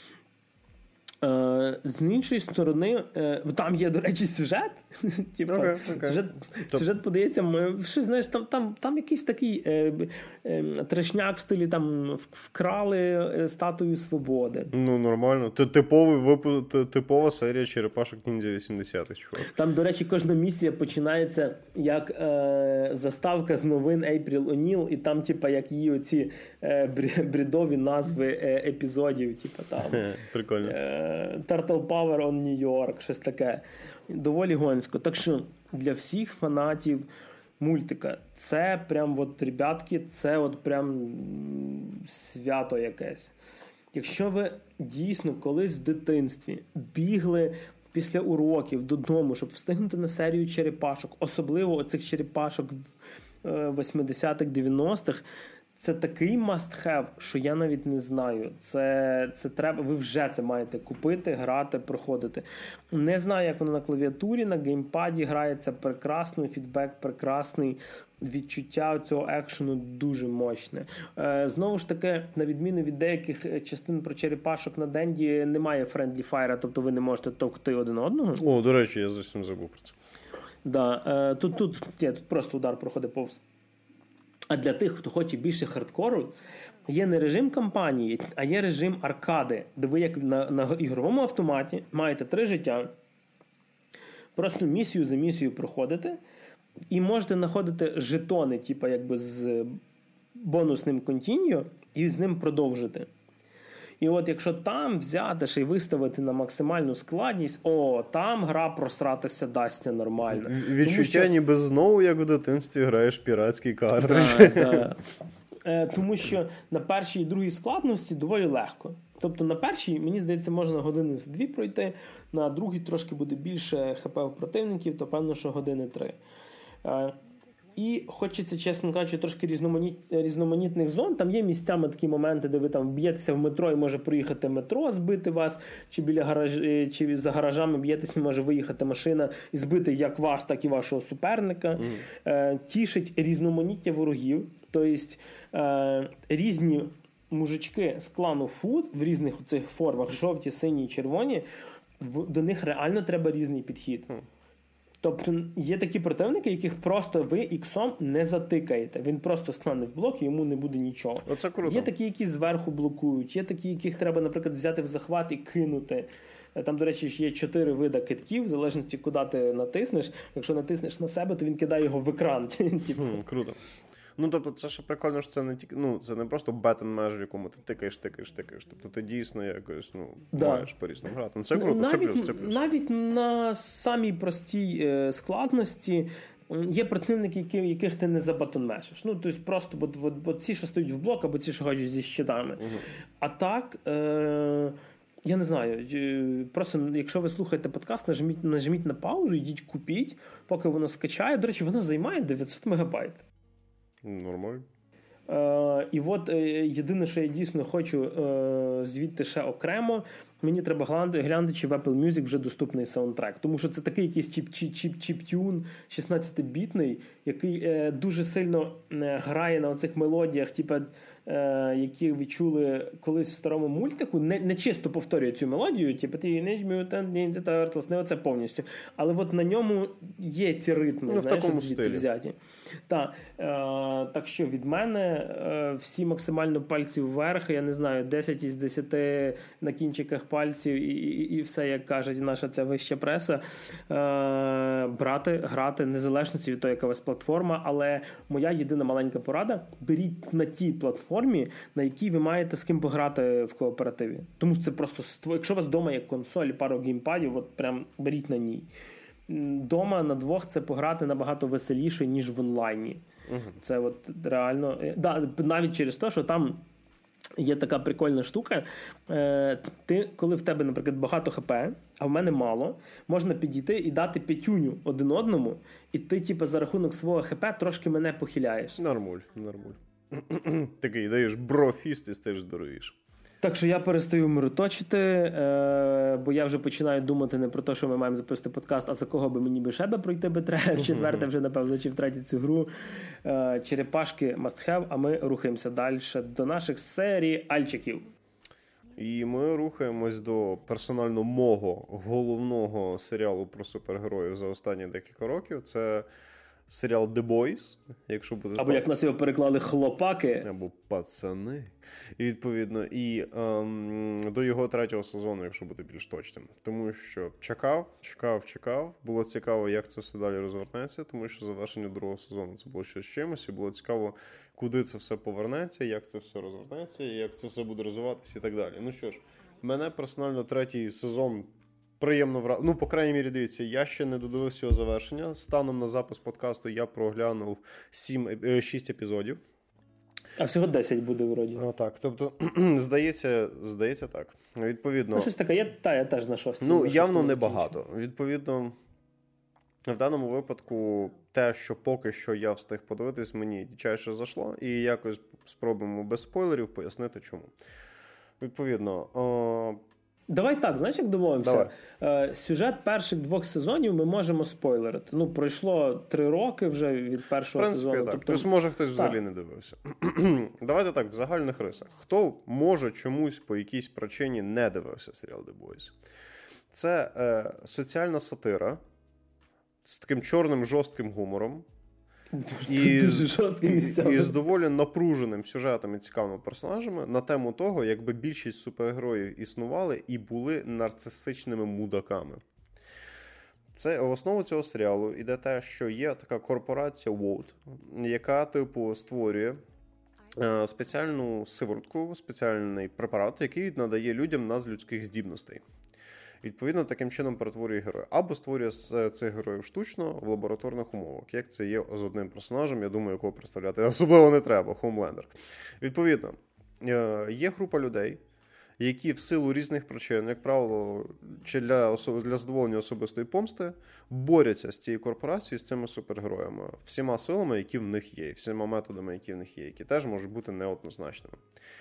Uh, з іншої сторони, uh, там є, до речі, сюжет. Типу, okay, okay. Сюжет, сюжет подається, що, знаєш, там, там, там якийсь такий uh, трешняк в стилі там вкрали статую свободи. Ну, нормально. Типовий випу... Типова серія черепашок ніндзя вісімдесятих, чувак. Там, до речі, кожна місія починається як е, заставка з новин Ейпріл О'Ніл, і там, типа, як її оці е, брідові назви е, епізодів, типа там прикольно. Е, Turtle Power on New York, щось таке. Доволі гонсько. Так що для всіх фанатів мультика це прям от, ребятки, це от прям свято якесь. Якщо ви дійсно колись в дитинстві бігли після уроків додому, щоб встигнути на серію черепашок, особливо оцих черепашок восьмидесятих, дев'яностих, це такий must-have, що я навіть не знаю. Це, це треба, ви вже це маєте купити, грати, проходити. Не знаю, як воно на клавіатурі, на геймпаді грається прекрасно, фідбек прекрасний, відчуття цього екшену дуже мощне. Е, знову ж таки, на відміну від деяких частин про черепашок на Денді, немає friendly fire, тобто ви не можете товкти один одного. О, до речі, я зовсім забув про це. Да, е, тут, тут, є, тут просто удар проходить повз. А для тих, хто хоче більше хардкору, є не режим кампанії, а є режим аркади, де ви як на, на ігровому автоматі маєте три життя, просто місію за місією проходите, і можете знаходити жетони, типу якби з бонусним контіньо, і з ним продовжити. І от якщо там взяти ще й виставити на максимальну складність, о, там гра просратися дасться нормально. Відчуття що... ніби знову, як в дитинстві, граєш піратський картридж. Да, да. Е, тому що на першій і другій складності доволі легко. Тобто на першій, мені здається, можна години за дві пройти, на другій трошки буде більше хп в противників, то певно, що години три. Е, І хочеться, чесно кажучи, трошки різноманіт... різноманітних зон. Там є місцями такі моменти, де ви там б'єтеся в метро і може проїхати метро, збити вас, чи біля гараж... чи за гаражами б'єтеся, може виїхати машина і збити як вас, так і вашого суперника. Mm. Е, тішить різноманіття ворогів. Тобто е, різні мужички з клану Food в різних цих формах, жовті, сині, червоні, в... до них реально треба різний підхід. Mm. Тобто є такі противники, яких просто ви іксом не затикаєте. Він просто стане в блок і йому не буде нічого. Оце круто. Є такі, які зверху блокують, є такі, яких треба, наприклад, взяти в захват і кинути. Там, до речі, є чотири види китків, в залежності, куди ти натиснеш. Якщо натиснеш на себе, то він кидає його в екран. Хм, круто. Ну, тобто, це ще прикольно, що це не тільки, ну, це не просто бетон меж, в якому ти тикаєш, тикаєш, тикаєш. Тобто ти дійсно якось, ну, да. маєш по-різному грати. Ну, це круто, навіть, це плюс, це плюс. Навіть на самій простій е, складності є противники, які, яких ти не забатонмешиш. Ну, тобто просто, бо, бо, бо ці, що стоять в блок, або ці, що ходять зі щитами. Угу. А так... Е, я не знаю, просто якщо ви слухаєте подкаст, нажміть, нажміть на паузу, йдіть купіть, поки воно скачає. До речі, воно займає дев'ятсот мегабайт. Нормально. Е, і от е, єдине, що я дійсно хочу е, звідти ще окремо, мені треба глянути, глянути, чи в Apple Music вже доступний саундтрек. Тому що це такий якийсь чіп-чіп-чіп-тюн шістнадцятибітний, який е, дуже сильно е, грає на оцих мелодіях, типу, е, які ви чули колись в старому мультику. Не, не чисто повторює цю мелодію, типу, ти не не оце повністю. Але от на ньому є ці ритми, ну, знаєш, в такому звідти стилі. Взяті. Так, е, так що від мене е, всі максимально пальці вверх, я не знаю, десять із десяти на кінчиках пальців і, і, і все, як кажуть наша ця вища преса. Е, брати, грати, незалежності від того, яка у вас платформа, але моя єдина маленька порада – беріть на тій платформі, на якій ви маєте з ким пограти в кооперативі. Тому що це просто, якщо у вас вдома є консоль, пару геймпадів, от прям беріть на ній. Дома на двох це пограти набагато веселіше, ніж в онлайні. Uh-huh. Це от реально... Да, навіть через те, що там є така прикольна штука. Ти, коли в тебе, наприклад, багато хп, а в мене мало, можна підійти і дати п'ятюню один одному, і ти, типу, за рахунок свого хп трошки мене похиляєш. Нормуль, нормуль. Такий даєш брофіст і стаєш здоровіше. Так що я перестаю мироточити, е, бо я вже починаю думати не про те, що ми маємо записати подкаст, а за кого би мені би ще би пройти би треба, в четверте вже, напевно, чи в третє цю гру. Е, черепашки must have, а ми рухаємося далі до наших серіальчиків. І ми рухаємось до персонально мого головного серіалу про супергероїв за останні декілька років. Це серіал The Boys, якщо буде... Або, як нас його переклали, хлопаки. Або пацани. І, відповідно, і ем, до його третього сезону, якщо бути більш точним. Тому що чекав, чекав, чекав. Було цікаво, як це все далі розвернеться, тому що завершення другого сезону це було щось чимось, і було цікаво, куди це все повернеться, як це все розвернеться, як це все буде розвиватися і так далі. Ну що ж, мене персонально третій сезон приємно вразив. Ну, по крайній мірі, дивіться, я ще не додивився його завершення. Станом на запис подкасту я проглянув шість епізодів. А всього десять буде, вроді. Ну, так, тобто, здається, здається так. Відповідно... Ну, щось таке, я, та, я теж на шостій. Ну, явно небагато. Відповідно, в даному випадку те, що поки що я встиг подивитись, мені дичайше зайшло, і якось спробуємо без спойлерів пояснити, чому. Відповідно... О... Давай так, знаєш, як домовимося? Е, сюжет перших двох сезонів ми можемо спойлерити. Ну, пройшло три роки вже від першого в принципі, сезону. Так. Тобто... Плюс, може, хтось так. взагалі не дивився. Давайте так, в загальних рисах. Хто може чомусь по якійсь причині не дивився серіал The Boys? Це е, соціальна сатира з таким чорним жорстким гумором. І, дуже жорстким місцями. І з доволі напруженим сюжетом і цікавими персонажами на тему того, якби більшість супергероїв існували і були нарцисичними мудаками. Це в основу цього серіалу іде те, що є така корпорація Вовт, яка, типу, створює е, спеціальну сиворотку, спеціальний препарат, який надає людям надлюдських здібностей. Відповідно, таким чином перетворює героя. Або створює з цих героїв штучно в лабораторних умовах, як це є з одним персонажем, я думаю, якого представляти особливо не треба, Хомлендер. Відповідно, є група людей, які в силу різних причин, як правило, чи для, особ... для задоволення особистої помсти, борються з цією корпорацією, з цими супергероями, всіма силами, які в них є, всіма методами, які в них є, які теж можуть бути неоднозначними.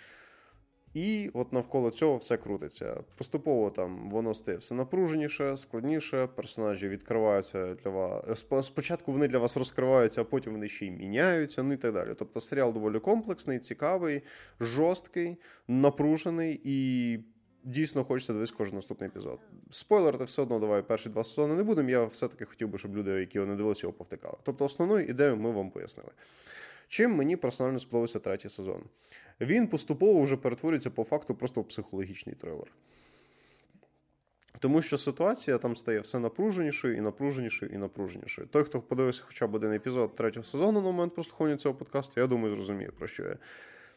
І от навколо цього все крутиться. Поступово там воно стає все напруженіше, складніше, персонажі відкриваються для вас. Спочатку вони для вас розкриваються, а потім вони ще й міняються, ну і так далі. Тобто серіал доволі комплексний, цікавий, жорсткий, напружений і дійсно хочеться дивитися кожен наступний епізод. Спойлерити все одно давай перші два сезони не будемо, я все-таки хотів би, щоб люди, які не дивилися, його повтикали. Тобто основну ідею ми вам пояснили. Чим мені персонально сподобався третій сезон? Він поступово вже перетворюється по факту просто в психологічний трилер. Тому що ситуація там стає все напруженішою і напруженішою і напруженішою. Той, хто подивився хоча б один епізод третього сезону на момент прослуховування цього подкасту, я думаю, зрозуміє, про що я.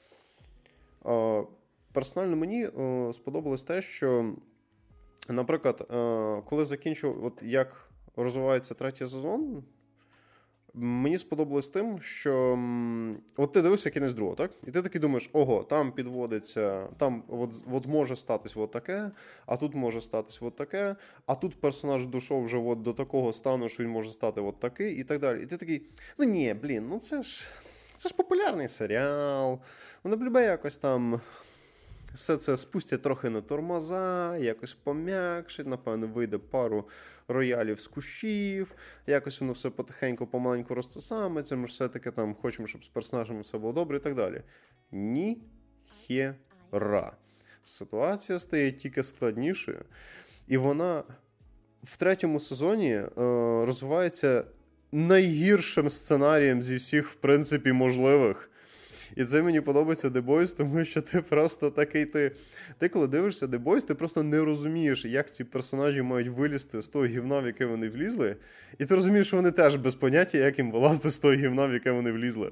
Персонально мені сподобалось те, що, наприклад, коли закінчив, от як розвивається третій сезон, мені сподобалось тим, що от ти дивишся кінець другого, так? І ти такий думаєш, ого, там підводиться, там от, от може статись от таке, а тут може статись от таке, а тут персонаж дійшов вже от до такого стану, що він може стати от такий і так далі. І ти такий, ну ні, блін, ну це ж, це ж популярний серіал, воно б любе якось там... Все це спустять трохи на тормоза, якось пом'якшить, напевно, вийде пару роялів з кущів, якось воно все потихеньку, помаленьку розцесаметься, ми ж все-таки там хочемо, щоб з персонажами все було добре і так далі. Ні хера. Ситуація стає тільки складнішою, і вона в третьому сезоні е, розвивається найгіршим сценарієм зі всіх, в принципі, можливих. І це мені подобається The Boys, тому що ти просто такий, ти, ти коли дивишся The Boys, ти просто не розумієш, як ці персонажі мають вилізти з того гівна, в яке вони влізли, і ти розумієш, що вони теж без поняття, як їм вилазити з того гівна, в яке вони влізли.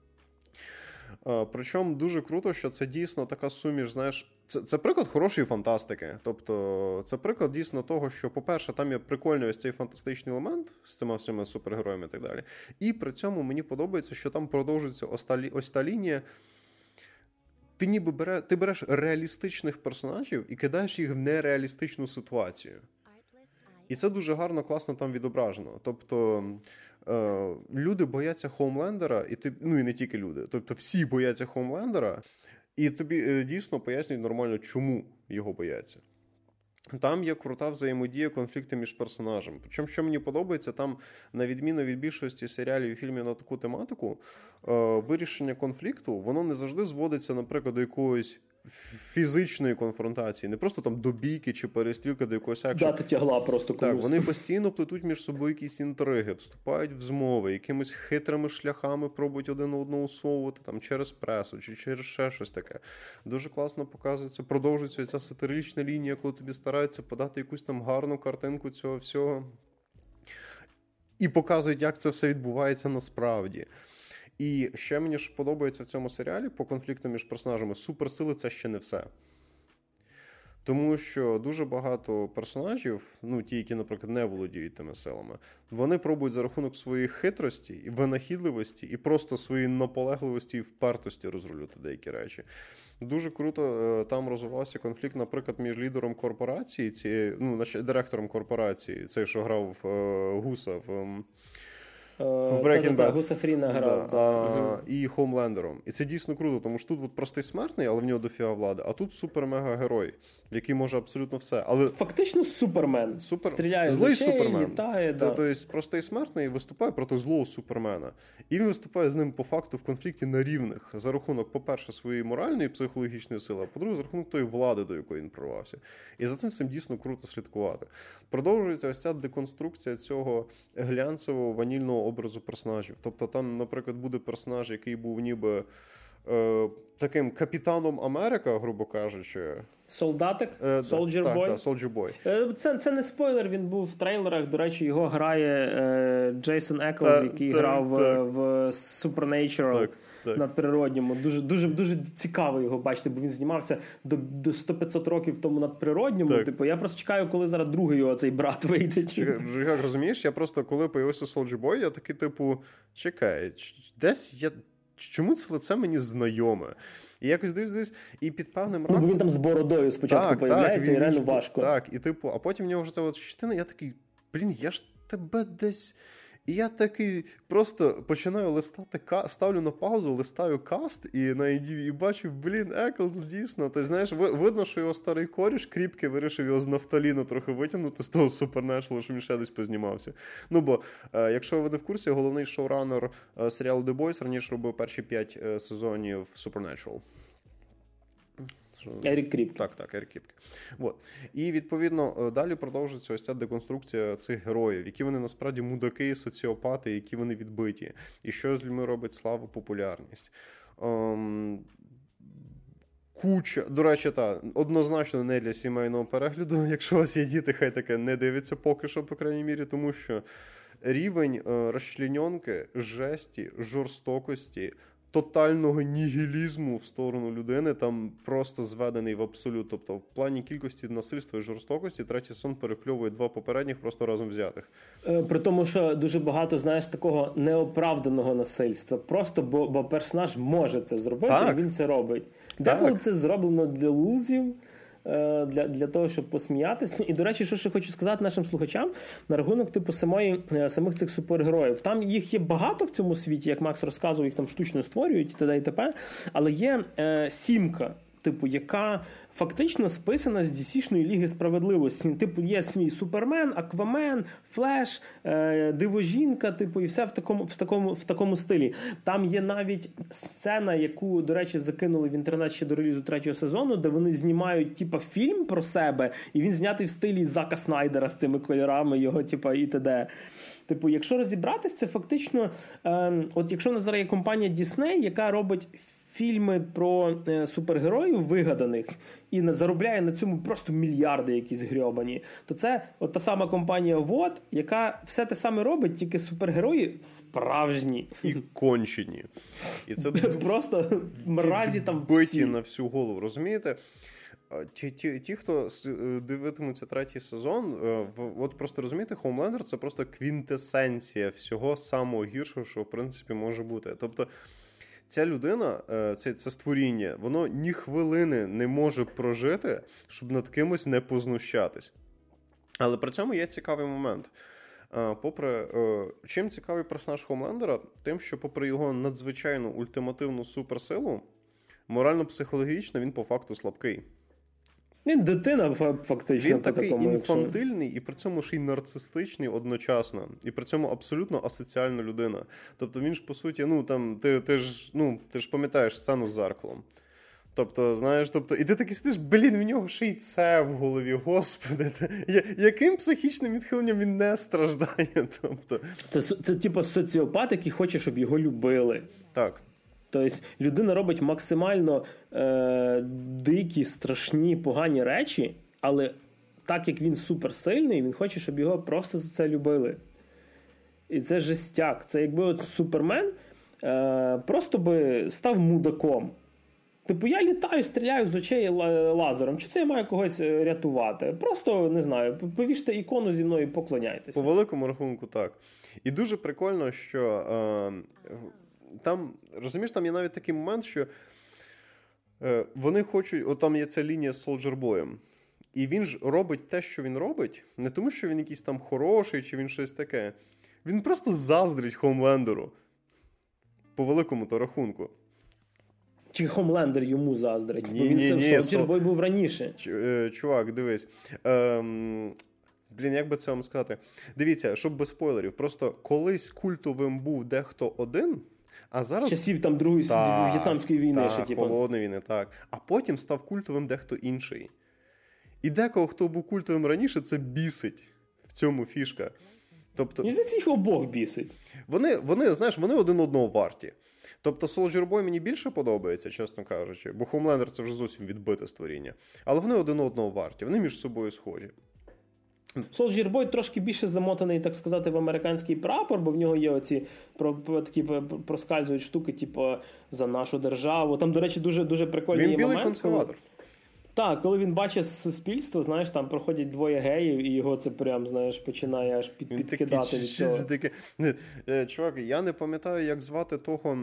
А, причому дуже круто, що це дійсно така суміш, знаєш, це, це приклад хорошої фантастики. Тобто, це приклад дійсно того, що, по-перше, там є прикольний ось цей фантастичний елемент з цими всіма супергероями і так далі. І при цьому мені подобається, що там продовжується ось та, ось та лінія. Ти ніби бере, ти береш реалістичних персонажів і кидаєш їх в нереалістичну ситуацію. І це дуже гарно, класно там відображено. Тобто, е, люди бояться Хоумлендера, і ти, ну і не тільки люди. Тобто, всі бояться Хоумлендера, і тобі е, дійсно пояснюють нормально, чому його бояться. Там є крута взаємодія, конфлікти між персонажами. Причому, що мені подобається, там, на відміну від більшості серіалів і фільмів на таку тематику, е, вирішення конфлікту, воно не завжди зводиться, наприклад, до якогось фізичної конфронтації, не просто там до бійки чи перестрілки до якогось екшену. Дати тягла просто комусь. Так, вони постійно плетуть між собою якісь інтриги, вступають в змови, якимись хитрими шляхами пробують один одного усовувати там через пресу чи через ще щось таке. Дуже класно показується, продовжується ця сатирична лінія, коли тобі стараються подати якусь там гарну картинку цього всього. І показують, як це все відбувається насправді. І ще мені ж подобається в цьому серіалі по конфлікту між персонажами. Суперсили – це ще не все. Тому що дуже багато персонажів, ну ті, які, наприклад, не володіють тими силами, вони пробують за рахунок своєї хитрості і винахідливості і просто своєї наполегливості і впертості розрулювати деякі речі. Дуже круто там розвивався конфлікт, наприклад, між лідером корпорації, цієї, ну, директором корпорації, цей, що грав е, Гуса в... В Breaking Bad. Гуса Фріна грав. Да. А, угу. І Хоумлендером. І це дійсно круто, тому що тут от простий смертний, але в нього дофіга влади, а тут супер-мега-герой, який може абсолютно все. Але... Фактично Супермен. Супер... Стріляє Злий з очей, Супермен. літає. Да. Тобто простий смертний виступає проти злого Супермена. І він виступає з ним по факту в конфлікті на рівних. За рахунок, по-перше, своєї моральної і психологічної сили, а по-друге, за рахунок тої влади, до якої він прорвався. І за цим всім дійсно круто слідкувати. Продовжується ось ця деконструкція цього глянцевого ванільного образу персонажів. Тобто там, наприклад, буде персонаж, який був ніби е, таким капітаном Америка, грубо кажучи. Солдатик? Е, Soldier так, Boy? Так, Soldier Boy. Е, це, це не спойлер, він був в трейлерах. До речі, його грає е, Джейсон Еклз, Та, який та, грав так. в Supernatural. Так. Так. Надприродньому. Дуже, дуже, дуже цікаво його бачити, бо він знімався до, до сто-п'ятсот років тому надприродньому. Так. Типу, я просто чекаю, коли зараз другий його цей брат вийде. Чекай, як розумієш, я просто, коли появився Soldier Boy, я такий, типу, чекай, десь я... Чому це лице мені знайоме? І якось дивись, дивись, і під певним раком... Ну, бо він там з бородою спочатку так, появляється, так, і реально важко. Так, і типу, а потім в нього вже ця от щитина, я такий, блін, я ж тебе десь... І я такий просто починаю листати, ставлю на паузу, листаю каст і на і бачу, блін, Еклз дійсно. Тобто, знаєш, видно, що його старий коріш кріпкий вирішив його з нафталіну трохи витягнути з того Supernatural, що він ще десь познімався. Ну, бо, е, якщо ви не в курсі, головний шоуранер е, серіалу The Boys раніше робив перші п'ять е, сезонів Supernatural. Ерік Кріпке. Так, так, Ерік Кріпке. Вот. І, відповідно, далі продовжується ось ця деконструкція цих героїв, які вони насправді мудаки, соціопати, які вони відбиті. І що з людьми робить славу, популярність. Ем... Куча, до речі, та, однозначно не для сімейного перегляду. Якщо у вас є діти, хай таке не дивиться поки що, по крайній мірі, тому що рівень е, розчленьонки, жесті, жорстокості, тотального нігілізму в сторону людини там просто зведений в абсолют. Тобто в плані кількості насильства і жорстокості третій сезон перепльовує два попередніх просто разом взятих. При тому, що дуже багато, знаєш, такого неоправданого насильства. Просто бо, бо персонаж може це зробити, так. І він це робить. Деколи це зроблено для лузів, Для, для того, щоб посміятися. І, до речі, що ще хочу сказати нашим слухачам на рахунок типу самої, самих цих супергероїв. Там їх є багато в цьому світі, як Макс розказував, їх там штучно створюють і т.д. і т.п. Але є е, сімка, типу, яка фактично списана з ді сі-шної Ліги Справедливості. Типу, є свій Супермен, Аквамен, Флеш, е, Дивожінка, типу, і все в такому, в, такому, в такому стилі. Там є навіть сцена, яку, до речі, закинули в інтернет ще до релізу третього сезону, де вони знімають, типу, фільм про себе, і він знятий в стилі Зака Снайдера з цими кольорами його, типу, і т.д. Типу, якщо розібратись, це фактично, е, от якщо в нас зараз є компанія Disney, яка робить фільми про е, супергероїв вигаданих і не заробляє на цьому просто мільярди якісь грьобані, то це от та сама компанія вот, яка все те саме робить, тільки супергерої справжні. І кончені. І це просто мразі там всі. Биті на всю голову, розумієте? Ті, ті, ті, хто дивитимуться третій сезон, от просто розумієте, Хоумлендер – це просто квінтесенція всього самого гіршого, що в принципі може бути. Тобто ця людина, це, це створіння, воно ні хвилини не може прожити, щоб над кимось не познущатись. Але при цьому є цікавий момент. Попри, чим цікавий персонаж Хоумлендера? Тим, що попри його надзвичайну ультимативну суперсилу, морально-психологічно він по факту слабкий. Він дитина фактично. Він такий інфантильний і при цьому ще й нарцистичний одночасно. І при цьому абсолютно асоціальна людина. Тобто він ж, по суті, ну, там, ти, ти, ж, ну, ти ж пам'ятаєш сцену з зеркалом. Тобто, знаєш, тобто, і ти такий сидиш, блін, в нього ще й це в голові, господи, та, я, яким психічним відхиленням він не страждає? Тобто... Це, це, це типу соціопат, який хоче, щоб його любили. Так. Тобто, людина робить максимально е, дикі, страшні, погані речі, але так як він суперсильний, він хоче, щоб його просто за це любили. І це жестяк. Це якби от Супермен е, просто би став мудаком. Типу, я літаю, стріляю з очей лазером. Чи це я маю когось рятувати? Просто, не знаю, повіште ікону зі мною і поклоняйтеся. По великому рахунку, так. І дуже прикольно, що е, там, розумієш, там є навіть такий момент, що е, вони хочуть, от там є ця лінія з Soldier Boy'ем. І він ж робить те, що він робить, не тому, що він якийсь там хороший, чи він щось таке. Він просто заздрить Хомлендеру. По великому-то рахунку. Чи Хомлендер йому заздрить? Ні, бо він Soldier Boy був раніше. Чувак, дивись. Ем, блін, як би це вам сказати? Дивіться, щоб без спойлерів. Просто колись культовим був дехто один, а зараз... Часів там Другої так, В'єтнамської війни. Так, ще, типу. Холодної війни, так. А потім став культовим дехто інший. І декого, хто був культовим раніше, це бісить. В цьому фішка. Тобто... Мені здається, їх обох бісить. Вони, вони, знаєш, вони один одного варті. Тобто Soldier Boy мені більше подобається, чесно кажучи, бо Homelander це вже зовсім відбите створіння. Але вони один одного варті, вони між собою схожі. Soldier Boy трошки більше замотаний, так сказати, в американський прапор, бо в нього є оці про, про, такі проскальзують штуки, типу, за нашу державу. Там, до речі, дуже, дуже прикольний він білий момент. консерватор. Так, коли він бачить суспільство, знаєш, там проходять двоє геїв, і його це прям, знаєш, починає аж під, підкидати такий, від цього. Такі... Чувак, я не пам'ятаю, як звати того,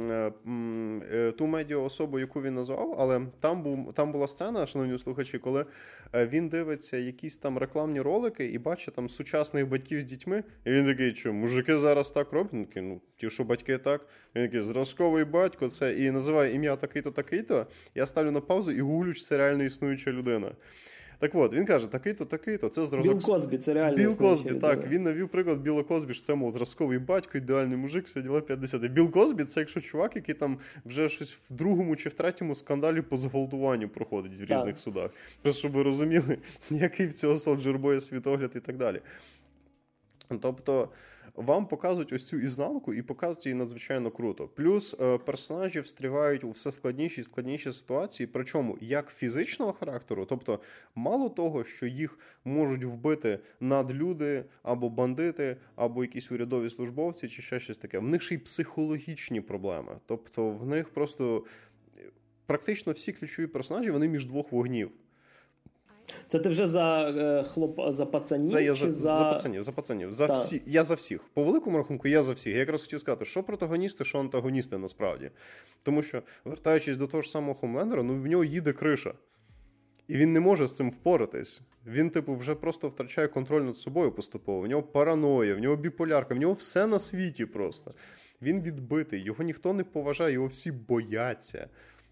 ту медіа-особу, яку він назвав, але там, був, там була сцена, шановні слухачі, коли він дивиться якісь там рекламні ролики і бачить там сучасних батьків з дітьми, і він такий, що, мужики зараз так роблять? Він такий, ну, ті, що батьки так. Він такий, зразковий батько, це, і називає ім'я такий-то, такий-то. Я ставлю на паузу і гуглю, чи це реально існуюча людина. Так от, він каже, такий-то, такий-то, це зразок... Білл Косбі, це реально Білл Косбі, людина. так, він навів приклад Білла Косбі, що це, мов, зразковий батько, ідеальний мужик, все діла п'ятдесят. Білл Косбі, це якщо чувак, який там вже щось в другому чи в третьому скандалі по зґвалтуванню проходить в різних так. судах. Просто, щоб ви розуміли, який в цього Soldier Boy світогляд і так далі. Тобто, вам показують ось цю ізнанку і показують її надзвичайно круто. Плюс е, персонажі встрівають у все складніші і складніші ситуації, причому як фізичного характеру, тобто мало того, що їх можуть вбити надлюди, або бандити, або якісь урядові службовці, чи ще щось таке, в них ще й психологічні проблеми. Тобто в них просто практично всі ключові персонажі, вони між двох вогнів. Це ти вже за е, хлоп, за пацанів? Це я чи за, за... за пацанів, за пацанів. За всі, я за всіх. По великому рахунку, я за всіх. Я якраз хотів сказати, що протагоністи, що антагоністи насправді. Тому що, вертаючись до того ж самого Хомлендера, ну в нього їде криша. І він не може з цим впоратись. Він, типу, вже просто втрачає контроль над собою поступово. В нього параноя, в нього біполярка, в нього все на світі просто. Він відбитий, його ніхто не поважає, його всі бояться.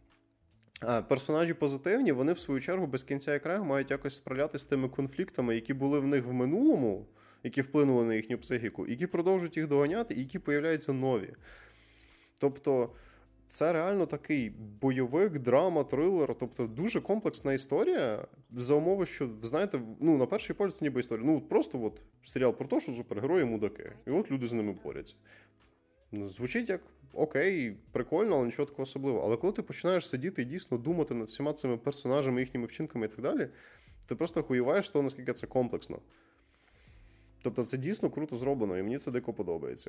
А персонажі позитивні, вони в свою чергу без кінця і краю мають якось справлятися з тими конфліктами, які були в них в минулому, які вплинули на їхню психіку, які продовжують їх доганяти і які появляються нові. Тобто це реально такий бойовик, драма, трилер, тобто дуже комплексна історія за умови, що, знаєте, ну, на перший погляд це ніби історія. Ну, просто от серіал про те, що супергерої мудаки, і от люди з ними борються. Звучить як окей, прикольно, але нічого такого особливого. Але коли ти починаєш сидіти і дійсно думати над всіма цими персонажами, їхніми вчинками і так далі, ти просто хуєваєш того, наскільки це комплексно. Тобто це дійсно круто зроблено, і мені це дико подобається.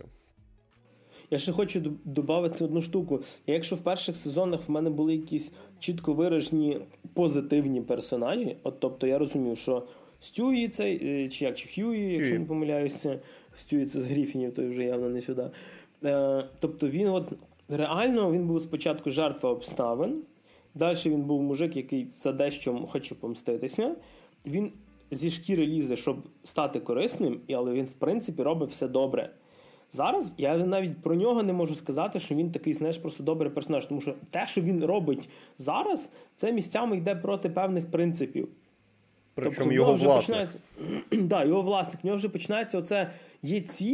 Я ще хочу додати одну штуку. Якщо в перших сезонах в мене були якісь чітко виражені позитивні персонажі, от тобто я розумів, що Стюї цей, чи як, чи Хьюї, якщо не помиляюся, Стюї це з Гріфінів, то вже явно не сюди. Тобто він от реально він був спочатку жертва обставин, далі він був мужик, який за дещо хоче помститися, він зі шкіри лізе, щоб стати корисним, але він в принципі робить все добре. Зараз я навіть про нього не можу сказати, що він такий, знаєш, просто добрий персонаж, тому що те, що він робить зараз, це місцями йде проти певних принципів. Причому тобто, його власник. Починається... да, його власник. В нього вже починається оце, є ціль,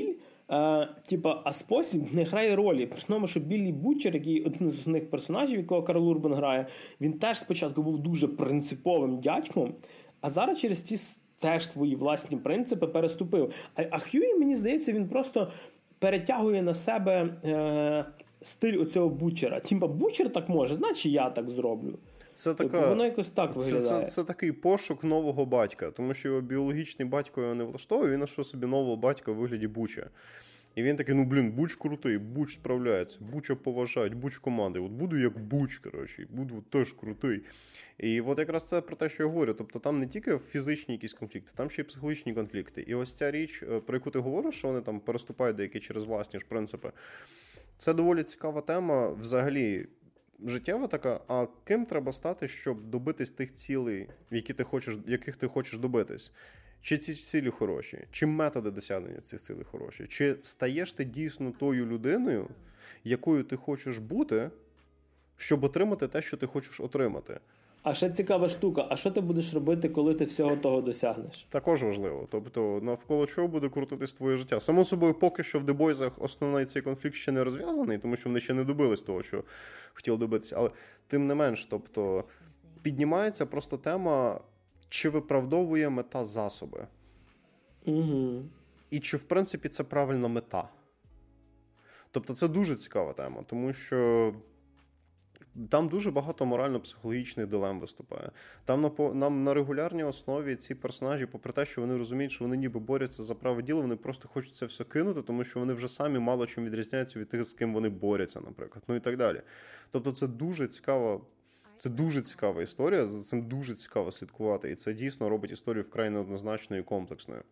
Е, типа, а спосіб не грає ролі. При тому, що Біллі Бутчер, який один з основних персонажів, якого Карл Урбан грає, він теж спочатку був дуже принциповим дядьком, а зараз через ті теж свої власні принципи переступив. А, а Хьюї, мені здається, він просто перетягує на себе е, стиль оцього Бутчера. Тімба, Бутчер так може, значить я так зроблю. Це така, воно якось так виглядає. Це, це, це такий пошук нового батька, тому що його біологічний батько його не влаштовує, він знайшов собі нового батька у вигляді Буча. І він такий, ну, блін, Буч крутий, Буч справляється, Буча поважають, Буч команди. От буду як Буч, коротше, буду теж крутий. І от якраз це про те, що я говорю. Тобто там не тільки фізичні якісь конфлікти, там ще й психологічні конфлікти. І ось ця річ, про яку ти говориш, що вони там переступають деякі через власні ж принципи, це доволі цікава тема взагалі. Життєва така, а ким треба стати, щоб добитись тих цілей, які ти хочеш, яких ти хочеш добитись? Чи ці цілі хороші? Чи методи досягнення цих цілей хороші? Чи стаєш ти дійсно тою людиною, якою ти хочеш бути, щоб отримати те, що ти хочеш отримати? А ще цікава штука, а що ти будеш робити, коли ти всього того досягнеш? Також важливо. Тобто, навколо чого буде крутитись твоє життя? Само собою, поки що в The Boys'ах основний цей конфлікт ще не розв'язаний, тому що вони ще не добились того, що хотіли добитися. Але тим не менш, тобто, піднімається просто тема, чи виправдовує мета засоби. Угу. І чи, в принципі, це правильна мета. Тобто, це дуже цікава тема, тому що там дуже багато морально-психологічних дилем виступає. Там на, нам на регулярній основі ці персонажі, попри те, що вони розуміють, що вони ніби борються за праве діло, вони просто хочуть це все кинути, тому що вони вже самі мало чим відрізняються від тих, з ким вони борються, наприклад. Ну і так далі. Тобто це дуже цікава, це дуже цікава історія, за цим дуже цікаво слідкувати. І це дійсно робить історію вкрай неоднозначною і комплексною.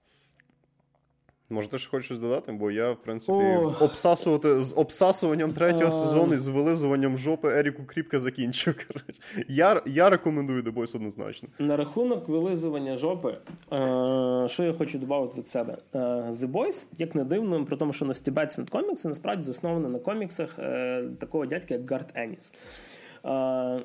Може, ти ще хочеш щось додати? Бо я, в принципі, О. обсасувати, з обсасуванням третього А. сезону і з вилизуванням жопи Еріку Кріпка закінчив. Я, я рекомендую The Boys однозначно. На рахунок вилизування жопи, е, що я хочу додати від себе. Е, The Boys, як не дивно, при тому, що на Stibetson Comics насправді засновано на коміксах е, такого дядька, як Гарт Еніс. Uh,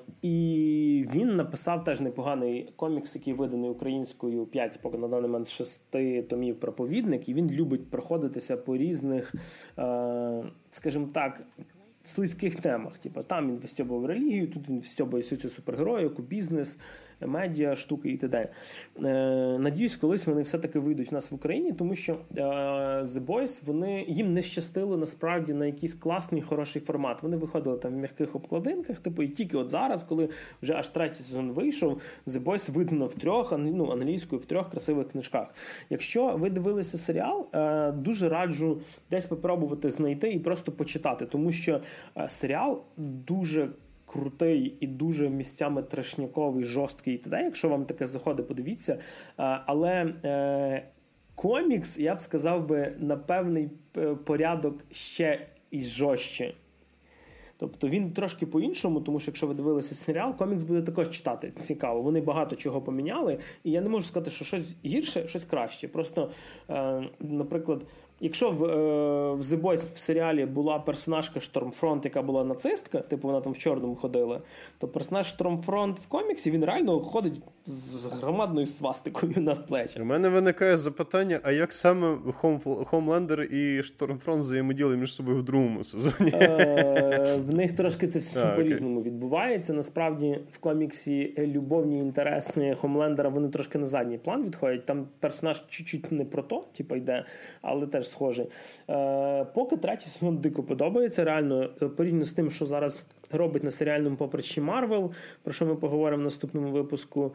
і він написав теж непоганий комікс, який виданий українською п'ять, поки на даний момент шести томів «Проповідник», і він любить проходитися по різних, uh, скажімо так, слизьких темах. Типу, там він вистьобував релігію, тут він вистьобує всю цю супергероїку, бізнес, медіа, штуки і т.д. Е, надіюсь, колись вони все-таки вийдуть в нас в Україні, тому що е, The Boys, вони, їм не щастило насправді на якийсь класний, хороший формат. Вони виходили там в м'яких обкладинках, типу, і тільки от зараз, коли вже аж третій сезон вийшов, The Boys видано в трьох, ну, англійською, в трьох красивих книжках. Якщо ви дивилися серіал, е, дуже раджу десь попробувати знайти і просто почитати, тому що е, серіал дуже крутий і дуже місцями трешняковий, жорсткий і т.д. Якщо вам таке заходить, подивіться. Але е, комікс, я б сказав би, на певний порядок ще і жорстче. Тобто він трошки по-іншому, тому що якщо ви дивилися серіал, комікс буде також читати цікаво. Вони багато чого поміняли, і я не можу сказати, що щось гірше, щось краще. Просто, е, наприклад, якщо в, е, в The Boys в серіалі була персонажка Штормфронт, яка була нацистка, типу вона там в чорному ходила, то персонаж Штормфронт в коміксі, він реально ходить з громадною свастикою на плечах. У мене виникає запитання, а як саме Хомлендер і Штормфронт взаємодіяли між собою в другому сезоні? Е, в них трошки це все по-різному відбувається. Насправді в коміксі любовні інтереси Хомлендера, вони трошки на задній план відходять. Там персонаж чуть-чуть не про то, типу йде, але теж схожий. Е, поки третій сезон дико подобається, реально, порівняно з тим, що зараз робить на серіальному поприщі Марвел, про що ми поговоримо в наступному випуску.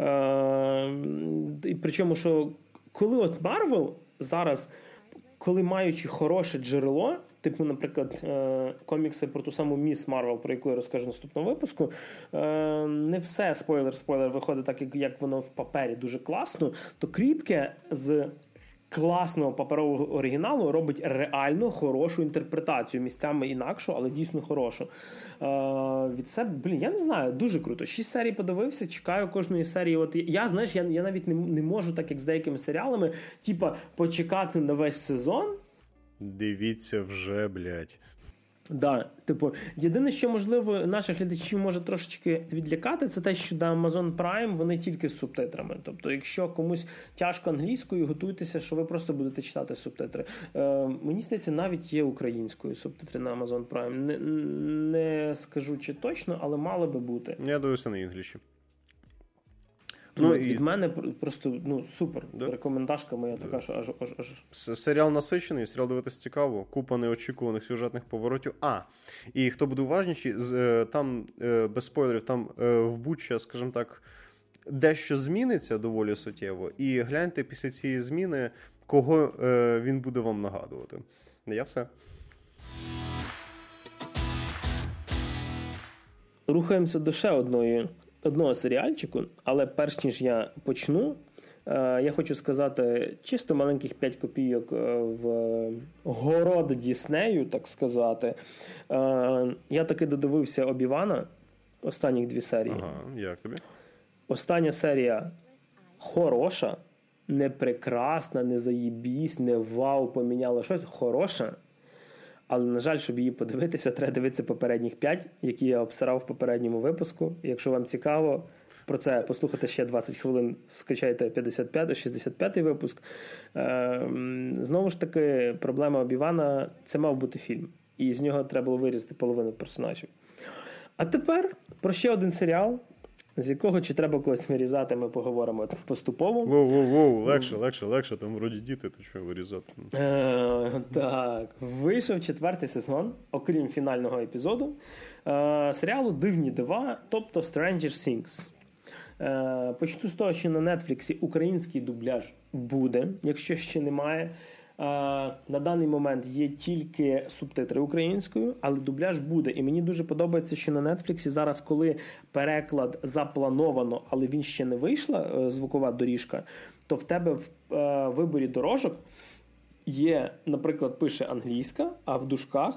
Е, і причому, що коли от Марвел зараз, коли маючи хороше джерело, типу, наприклад, е, комікси про ту саму Міс Марвел, про яку я розкажу в наступному випуску, е, не все, спойлер-спойлер, виходить так, як, як воно в папері дуже класно, то Кріпке з класного паперового оригіналу робить реально хорошу інтерпретацію, місцями інакшу, але дійсно хорошу. Е, від себе, блін, я не знаю, дуже круто. Шість серій подивився, чекаю кожної серії. От я, знаєш, я, я навіть не, не можу, так як з деякими серіалами, типа, почекати на весь сезон. Дивіться вже, блядь. Да, типу, єдине, що, можливо, наших глядачів може трошечки відлякати, це те, що на Amazon Prime вони тільки з субтитрами. Тобто, якщо комусь тяжко англійською, готуйтеся, що ви просто будете читати субтитри. Е, мені здається, навіть є українською субтитри на Amazon Prime. Не, не скажу, чи точно, але мало би бути. Я дивився на інгліші. Ну, від і... мене просто ну, супер. Да? Рекомендашка моя така, да. що аж, аж, аж. Серіал насичений, серіал дивитися цікаво, купа неочікуваних сюжетних поворотів. А, і хто буде уважніший, там, без спойлерів, там в Буча, скажімо так, дещо зміниться доволі суттєво. І гляньте після цієї зміни, кого він буде вам нагадувати. Я все. Рухаємося до ще одної одного серіальчику, але перш ніж я почну, я хочу сказати чисто маленьких п'ять копійок в город Діснею, так сказати. Я таки додивився Обі-Вана, останніх дві серії. Ага, як тобі? Остання серія хороша, не прекрасна, не заєбісь, не вау, поміняла щось, хороша. Але, на жаль, щоб її подивитися, треба дивитися попередніх п'ять, які я обсирав в попередньому випуску. Якщо вам цікаво про це послухати ще двадцять хвилин, скачайте п'ятдесят п'ятий, шістдесят п'ятий випуск. Знову ж таки, проблема Обі-Вана – це мав бути фільм. І з нього треба було вирізати половину персонажів. А тепер про ще один серіал, з якого чи треба когось вирізати, ми поговоримо поступово. Воу-воу-воу, легше, легше, легше, там вроді діти, то що вирізати? Е, так, вийшов четвертий сезон, окрім фінального епізоду, е, серіалу «Дивні дива», тобто Stranger Things. Е, почну з того, що на Нетфліксі український дубляж буде, якщо ще немає. На даний момент є тільки субтитри українською, але дубляж буде. І мені дуже подобається, що на Нетфліксі зараз, коли переклад заплановано, але він ще не вийшла, звукова доріжка, то в тебе в виборі дорожок є, наприклад, пише англійська, а в дужках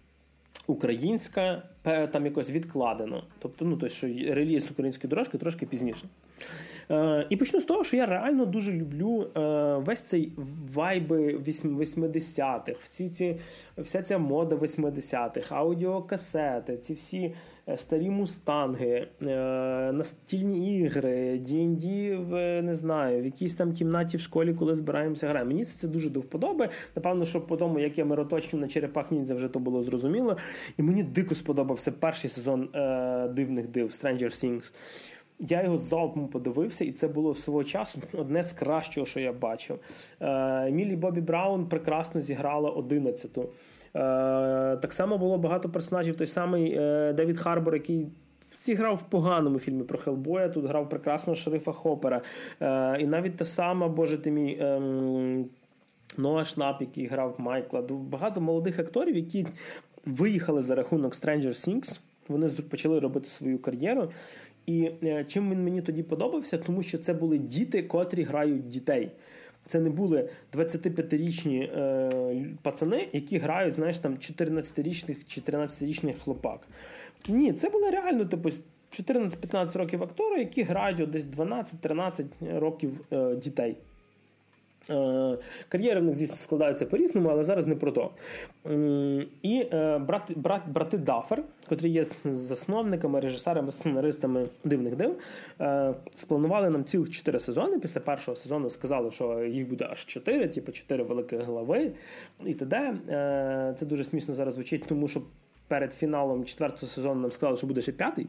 українська, там якось відкладено. Тобто, ну, тобто, що реліз української дорожки трошки пізніше. Е, і почну з того, що я реально дуже люблю е, весь цей вайби восьмидесятих, всі ці, вся ця мода восьмидесятих, аудіокасети, ці всі старі мустанги, е, настільні ігри, ді енд ді, в, не знаю, в якійсь там кімнаті в школі, коли збираємося граємо. Мені це дуже до вподоби. Напевно, що по тому, як я мироточив на черепах ніндзя, вже то було зрозуміло. І мені дико сподобався перший сезон е, «Дивних див» Stranger Things. Я його залпом подивився, і це було свого часу одне з кращого, що я бачив. Міллі Бобі Браун прекрасно зіграла одинадцяту. Так само було багато персонажів. Той самий Девід Харбор, який зіграв в поганому фільмі про Хеллбоя, тут грав прекрасного шерифа Хоппера. І навіть та сама, боже ти мій, Ноа Шнап, який грав Майкла. Багато молодих акторів, які виїхали за рахунок Stranger Things. Вони почали робити свою кар'єру. І чим він мені тоді подобався? Тому що це були діти, котрі грають дітей. Це не були двадцятип'ятирічні е, пацани, які грають, знаєш, там чотирнадцятирічних чи тринадцятирічних хлопак. Ні, це були реально, типу, чотирнадцять-п'ятнадцять років актори, які грають десь дванадцять-тринадцять років е, дітей. Кар'єри в них, звісно, складаються по-різному, але зараз не про то. І брат, брат, брати Даффер, котрі є засновниками, режисерами, сценаристами «Дивних див», спланували нам цілих чотири сезони. Після першого сезону сказали, що їх буде аж чотири, типу чотири великих глави і т.д. Це дуже смішно зараз звучить, тому що перед фіналом четвертого сезону нам сказали, що буде ще п'ятий.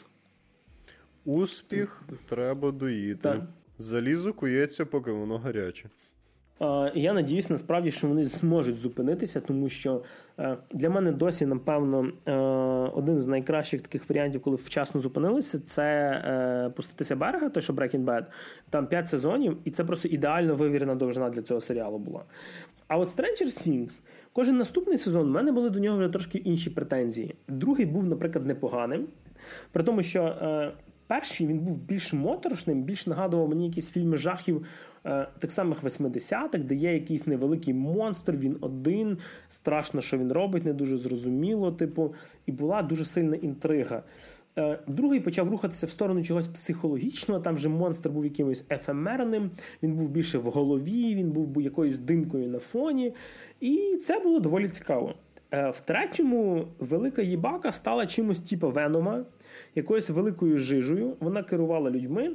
Успіх треба доїти. Так. Залізо кується, поки воно гаряче. І я надіюсь, насправді, що вони зможуть зупинитися, тому що для мене досі, напевно, один з найкращих таких варіантів, коли вчасно зупинилися, це «Пуститися берега», той, що Breaking Bad. Там п'ять сезонів, і це просто ідеально вивірена довжина для цього серіалу була. А от Stranger Things, кожен наступний сезон, в мене були до нього вже трошки інші претензії. Другий був, наприклад, непоганим, при тому, що перший він був більш моторошним, більш нагадував мені якісь фільми жахів е, тих самих восьмидесятих, де є якийсь невеликий монстр, він один, страшно, що він робить, не дуже зрозуміло, типу, і була дуже сильна інтрига. Е, другий почав рухатися в сторону чогось психологічного, там вже монстр був якимось ефемерним, він був більше в голові, він був якоюсь димкою на фоні, і це було доволі цікаво. В третьому велика їбака стала чимось типу Венома, якоюсь великою жижею. Вона керувала людьми.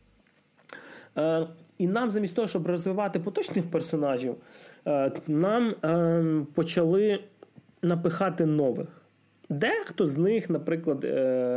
І нам замість того, щоб розвивати поточних персонажів, нам почали напихати нових. Дехто з них, наприклад,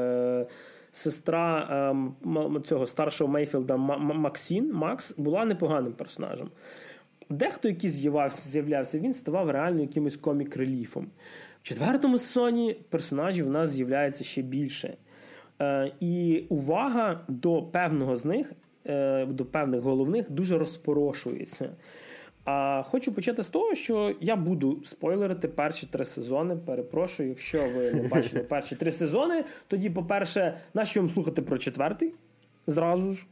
сестра цього старшого Мейфілда Максін, Макс, була непоганим персонажем. Дехто, який з'являвся, з'являвся, він ставав реально якимось комік-реліфом. В четвертому сезоні персонажів у нас з'являється ще більше. Е, і увага до певного з них, е, до певних головних, дуже розпорошується. А хочу почати з того, що я буду спойлерити перші три сезони. Перепрошую, якщо ви не бачили перші три сезони, тоді, по-перше, нащо вам слухати про четвертий? Зразу ж.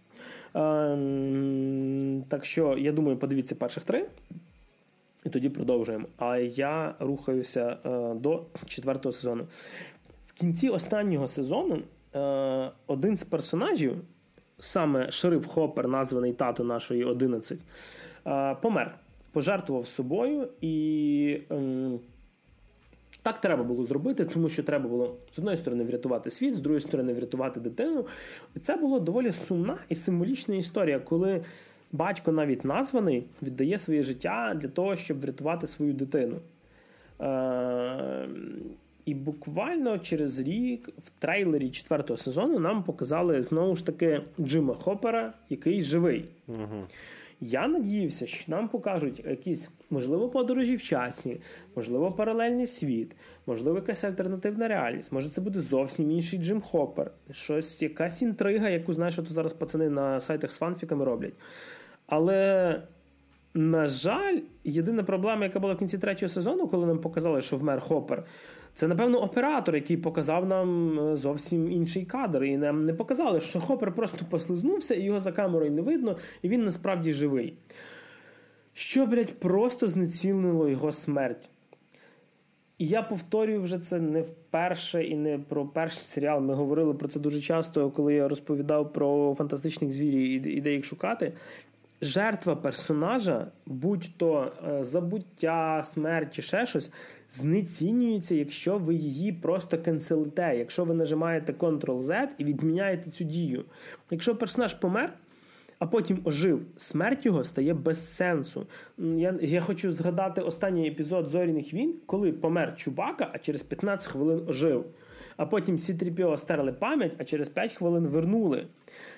Так що, я думаю, подивіться перших три, і тоді продовжуємо. А я рухаюся до четвертого сезону. В кінці останнього сезону один з персонажів, саме шериф Хоппер, названий тато нашої одинадцять, помер. Пожертвував собою, і так треба було зробити, тому що треба було з одної сторони врятувати світ, з другої сторони врятувати дитину. І це була доволі сумна і символічна історія, коли батько, навіть названий, віддає своє життя для того, щоб врятувати свою дитину. Е- і буквально через рік в трейлері четвертого сезону нам показали знову ж таки Джима Хоппера, який живий. Угу. Я надіявся, що нам покажуть якісь, можливо, подорожі в часі, можливо, паралельний світ, можливо, якась альтернативна реальність, може це буде зовсім інший Джим Хоппер, щось, якась інтрига, яку, знаєш, що зараз пацани на сайтах з фанфіками роблять. Але, на жаль, єдина проблема, яка була в кінці третього сезону, коли нам показали, що вмер Хоппер, це, напевно, оператор, який показав нам зовсім інший кадр. І нам не показали, що Хоппер просто послизнувся, і його за камерою не видно, і він насправді живий. Що, блядь, просто знецінило його смерть. І я повторюю вже це не вперше і не про перший серіал. Ми говорили про це дуже часто, коли я розповідав про фантастичних звірів і де їх шукати. Жертва персонажа, будь-то забуття, смерть чи ще щось, знецінюється, якщо ви її просто канцелите, якщо ви нажимаєте контрол-зет і відміняєте цю дію. Якщо персонаж помер, а потім ожив, смерть його стає без сенсу. Я, я хочу згадати останній епізод «Зоряних війн», коли помер Чубака, а через п'ятнадцять хвилин ожив. А потім сі трі пі о стерли пам'ять, а через п'ять хвилин вернули.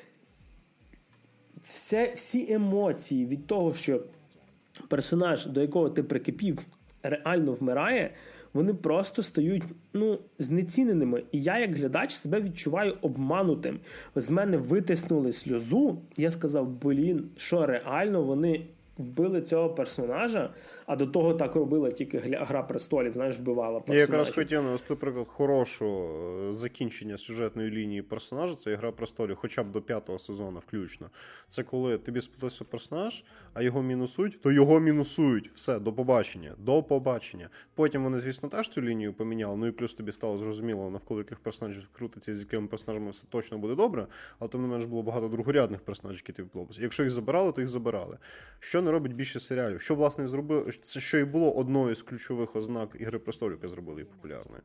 Все, всі емоції від того, що персонаж, до якого ти прикипів, реально вмирає, вони просто стають, ну, знеціненими. І я, як глядач, себе відчуваю обманутим. З мене витиснули сльозу. Я сказав, блін, що реально вони вбили цього персонажа, а до того так робила тільки «Гра престолів», знаєш, вбивала персонажа. Я якраз хотів навести приклад хорошого закінчення сюжетної лінії персонажа, це «Гра престолів», хоча б до п'ятого сезону включно. Це коли тобі сподобався персонаж, а його мінусують, то його мінусують. Все, до побачення. До побачення. Потім вони, звісно, теж цю лінію поміняли, ну і плюс тобі стало зрозуміло, навколо яких персонажів крутиться, з якими персонажами все точно буде добре, але тим не менш було багато другорядних персонажів, які тобі подобалися. Якщо їх забирали, то їх забирали. Що не робить більше серіалів? Що, власне, зробили? Це що і було одною з ключових ознак «Ігри престолів», яка зробила її популярною.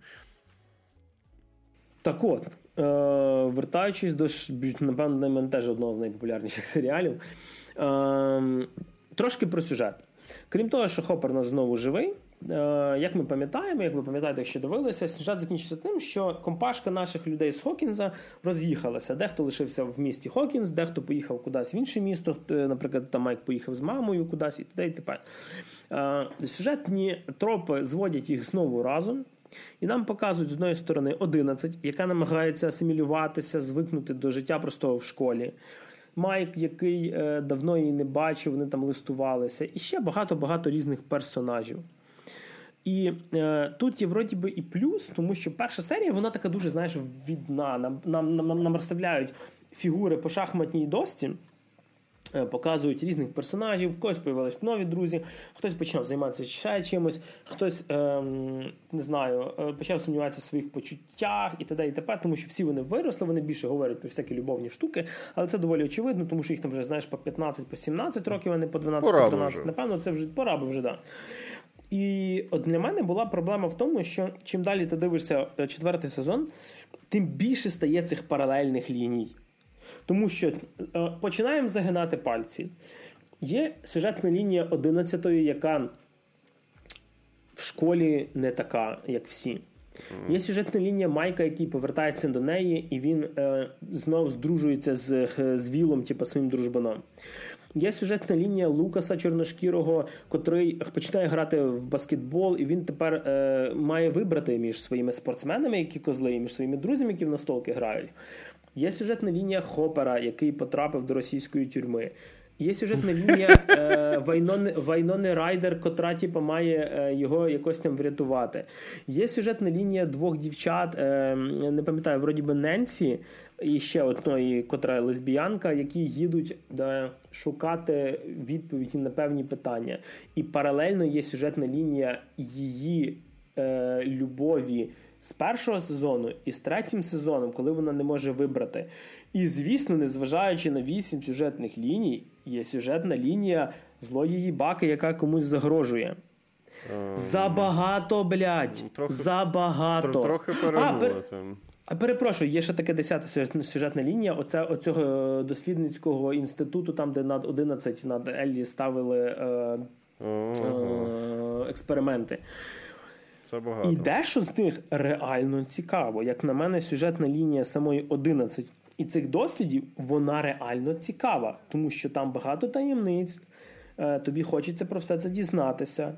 Так от, е- вертаючись до, напевно, для мене теж одного з найпопулярніших серіалів, е- трошки про сюжет. Крім того, що Хоппер у нас знову живий, як ми пам'ятаємо, як ви пам'ятаєте, якщо дивилися, сюжет закінчився тим, що компашка наших людей з Хокінза роз'їхалася. Дехто лишився в місті Хокінз, дехто поїхав кудись в інше місто, наприклад, там Майк поїхав з мамою кудись і т.д. і т.п. Сюжетні тропи зводять їх знову разом. І нам показують, з одної сторони, одинадцять, яка намагається асимілюватися, звикнути до життя простого в школі. Майк, який е, давно її не бачив, вони там листувалися. І ще багато-багато різних персонажів. І е, тут є вроді би і плюс, тому що перша серія, вона така дуже, знаєш, відна. Нам, нам, нам, нам розставляють фігури по шахматній дошці, е, показують різних персонажів, в когось появились нові друзі, хтось почав займатися ще чимось, хтось, е, не знаю, е, почав сумніватися в своїх почуттях і т.д. і т.п., тому що всі вони виросли, вони більше говорять про всякі любовні штуки, але це доволі очевидно, тому що їх там вже, знаєш, по п'ятнадцять, по сімнадцять років, а не по дванадцять, по тринадцять. Напевно, це вже пора би вже, да. І от для мене була проблема в тому, що чим далі ти дивишся четвертий сезон, тим більше стає цих паралельних ліній. Тому що е, починаємо загинати пальці. Є сюжетна лінія одинадцятої, яка в школі не така, як всі. Є сюжетна лінія Майка, який повертається до неї, і він е, знов здружується з, з Вілом, типу, своїм дружбаном. Є сюжетна лінія Лукаса Чорношкірого, котрий починає грати в баскетбол, і він тепер е, має вибрати між своїми спортсменами, які козли, і між своїми друзями, які в настолки грають. Є сюжетна лінія Хопера, який потрапив до російської тюрми. Є сюжетна лінія е, Вайнони, Вайнони Райдер, котра типу, має е, його якось там врятувати. Є сюжетна лінія двох дівчат, е, не пам'ятаю, вроді би Ненсі, і ще одної, котра лесбіянка, які їдуть да, шукати відповіді на певні питання. І паралельно є сюжетна лінія її е, любові з першого сезону і з третім сезоном, коли вона не може вибрати. І, звісно, незважаючи на вісім сюжетних ліній, є сюжетна лінія злої баки, яка комусь загрожує. Um, Забагато, блядь! Трохи, Забагато! Трохи перегнули там. А перепрошую, є ще таке десята сюжетна лінія оце, оцього дослідницького інституту, там, де над одинадцять над Еллі ставили е, uh-huh. е, експерименти. Це багато. І дещо з них реально цікаво. Як на мене, сюжетна лінія самої одинадцять і цих дослідів, вона реально цікава. Тому що там багато таємниць, е, тобі хочеться про все це дізнатися.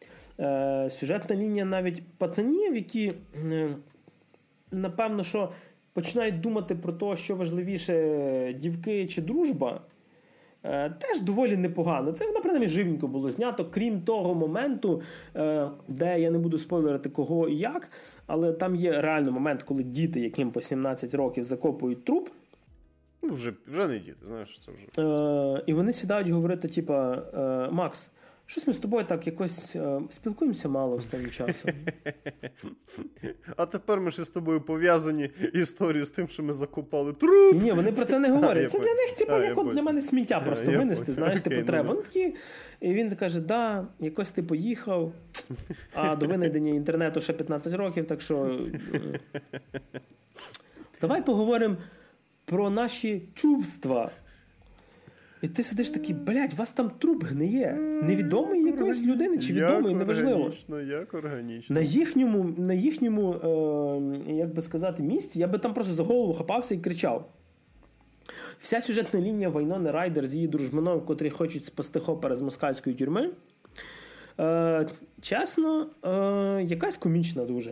Е, сюжетна лінія навіть пацанів, які... Е, напевно, що починають думати про те, що важливіше, дівки чи дружба, е, теж доволі непогано. Це, наприклад, живенько було знято, крім того моменту, е, де я не буду спойлерити кого і як, але там є реально момент, коли діти, яким по сімнадцять років закопують труп. Ну, вже, вже не діти, знаєш, це вже. Е, і вони сідають говорити, типа, е, Макс, щось ми з тобою так якось е, спілкуємося мало останнім часом. А тепер ми ще з тобою пов'язані історію з тим, що ми закопали труп. Ні, вони про це не говорять. Це для них, типу, як от для мене сміття просто а, винести, знаєш, типу, треба. Ну, такі, і він каже, да, якось ти поїхав, а до винайдення інтернету ще п'ятнадцять років, так що... Давай поговоримо про наші чувства. І ти сидиш такий, блядь, у вас там труп гниє. Невідомий якоїсь людини, чи відомий, як неважливо. Органічно, як органічно. На їхньому, на їхньому е, як би сказати, місці, я би там просто за голову хапався і кричав. Вся сюжетна лінія Вайнони Райдер з її дружбаном, котрі хочуть спасти Хопера з москальської тюрми, е, чесно, е, якась комічна дуже.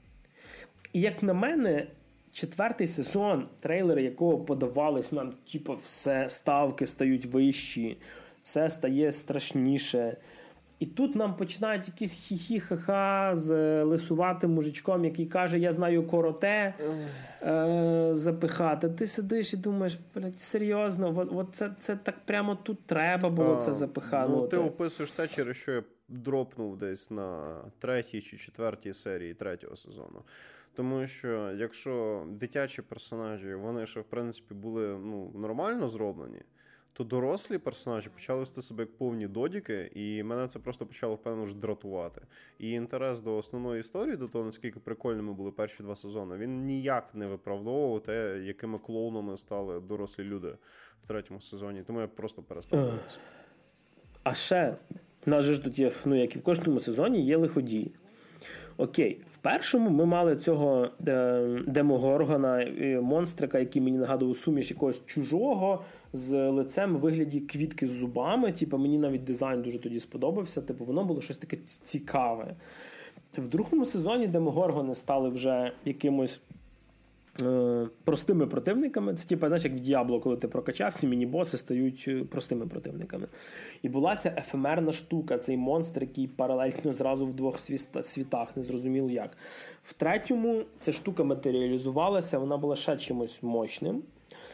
І як на мене, четвертий сезон, трейлери якого подавались нам, типу, все, ставки стають вищі, все стає страшніше. І тут нам починають якісь хі-хі-ха-ха з лисуватим мужичком, який каже, я знаю короте, е, запихати. Ти сидиш і думаєш, блядь, серйозно, от, от це, це так прямо тут треба було а, це запихати. Ну, ти описуєш те, через що я дропнув десь на третій чи четвертій серії третього сезону. Тому що, якщо дитячі персонажі, вони ще, в принципі, були ну, нормально зроблені, то дорослі персонажі почали вести себе як повні додіки, і мене це просто почало, впевнено, ж дратувати. І інтерес до основної історії, до того, наскільки прикольними були перші два сезони, він ніяк не виправдовував те, якими клоунами стали дорослі люди в третьому сезоні. Тому я просто перестав дивитися. А ще, у нас же ж тут є, ну, як і в кожному сезоні, є лиходії. Окей, в першому ми мали цього демогоргона, монстрика, який мені нагадував суміш якогось чужого з лицем у вигляді квітки з зубами. Типу, мені навіть дизайн дуже тоді сподобався. Типу, воно було щось таке цікаве. В другому сезоні демогоргони стали вже якимось е, простими противниками. Це, типу, знаєш, як в Діабло, коли ти прокачав, всі міні-боси стають простими противниками. І була ця ефемерна штука, цей монстр, який паралельно зразу в двох світах, не зрозуміло як. В третьому ця штука матеріалізувалася, вона була ще чимось мощним.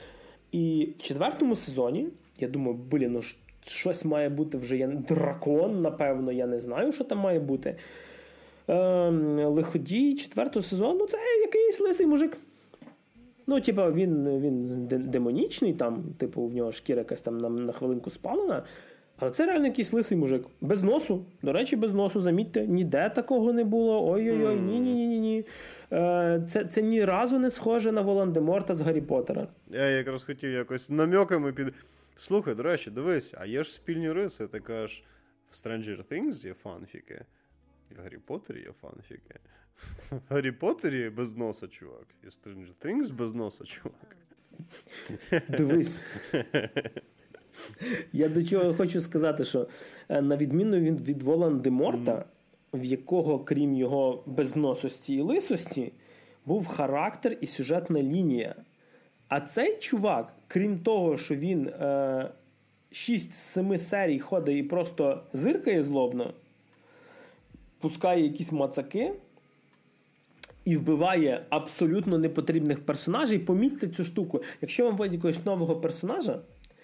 І в четвертому сезоні, я думаю, блін, ну щось має бути вже, я, дракон, напевно, я не знаю, що там має бути. Е, лиходій четвертого сезону, це якийсь лисий мужик. Ну, типу, він, він демонічний, там, типу, в нього шкіра якась там на, на хвилинку спалена, Але це реально якийсь лисий мужик. Без носу. До речі, без носу, замітьте, ніде такого не було. Ой-ой-ой, ні-ні-ні-ні. Це, це ні разу не схоже на Волан-де-Морта з Гаррі Поттера. Я якраз хотів якось намеками під... Слухай, до речі, дивись, а є ж спільні риси, ти кажеш, в Stranger Things є фанфіки, в Гаррі Поттері є фанфіки. В Гаррі Поттері без носа, чувак. І в Stranger Things без носа, чувак. Дивись. Я до чого хочу сказати, що на відміну від, від Волан-де-Морта, mm. в якого, крім його безносості і лисості, був характер і сюжетна лінія. А цей чувак, крім того, що він е, шість з семи серій ходить і просто зиркає злобно, пускає якісь мацаки і вбиває абсолютно непотрібних персонажей. Помітьте цю штуку. Якщо вам вводять якогось нового персонажа,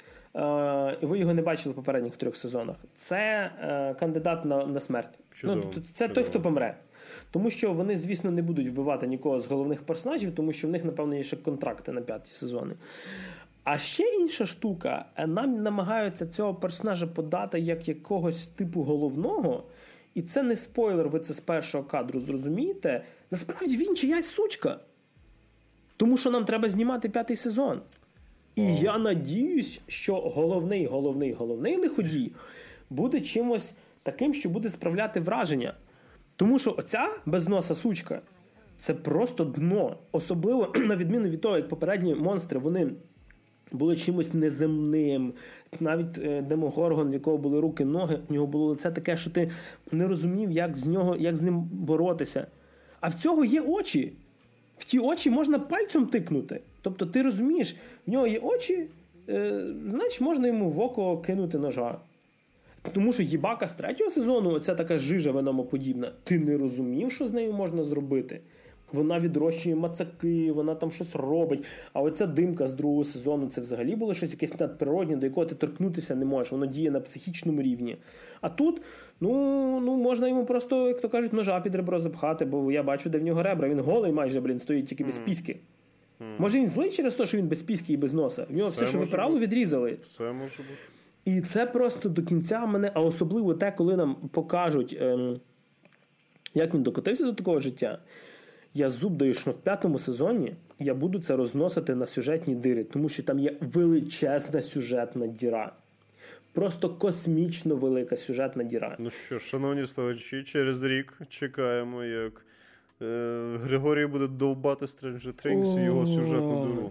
і ви його не бачили в попередніх трьох сезонах, це е, кандидат на, на смерть. Чудово, ну, це чудово. Той, хто помре. Тому що вони, звісно, не будуть вбивати нікого з головних персонажів, тому що в них, напевно, є ще контракти на п'яті сезони. А ще інша штука, нам намагаються цього персонажа подати як якогось типу головного, і це не спойлер, ви це з першого кадру зрозумієте. Насправді він чиясь сучка. Тому що нам треба знімати п'ятий сезон. І oh. я надіюсь, що головний, головний, головний лиходій буде чимось таким, що буде справляти враження. Тому що оця безноса сучка – це просто дно. Особливо, на відміну від того, як попередні монстри, вони були чимось неземним. Навіть Демогоргон, в якого були руки, ноги, в нього було лице таке, що ти не розумів, як з нього, як з ним боротися. А в цього є очі. В ті очі можна пальцем тикнути. Тобто ти розумієш, в нього є очі, е, значить можна йому в око кинути ножа. Тому що їбака з третього сезону, оця така жижа веномоподібна, ти не розумів, що з нею можна зробити. Вона відрощує мацаки, вона там щось робить. А оця димка з другого сезону, це взагалі було щось якесь надприродне, до якого ти торкнутися не можеш. Воно діє на психічному рівні. А тут, ну, ну можна йому просто, як то кажуть, ножа під ребро запхати, бо я бачу, де в нього ребра. Він голий майже, блін, стоїть тільки без піски. Mm. Може він злий через те, що він без піски і без носа? В нього все, все що випирало, відрізали. Все може бути. І це просто до кінця мене, а особливо те, коли нам покажуть, ем, як він докотився до такого життя. Я зуб даю, що в п'ятому сезоні я буду це розносити на сюжетні дири, тому що там є величезна сюжетна діра. Просто космічно велика сюжетна діра. Ну що, шановні слухачі, через рік чекаємо, як е, Григорій буде довбати Stranger Things і його сюжетну диру.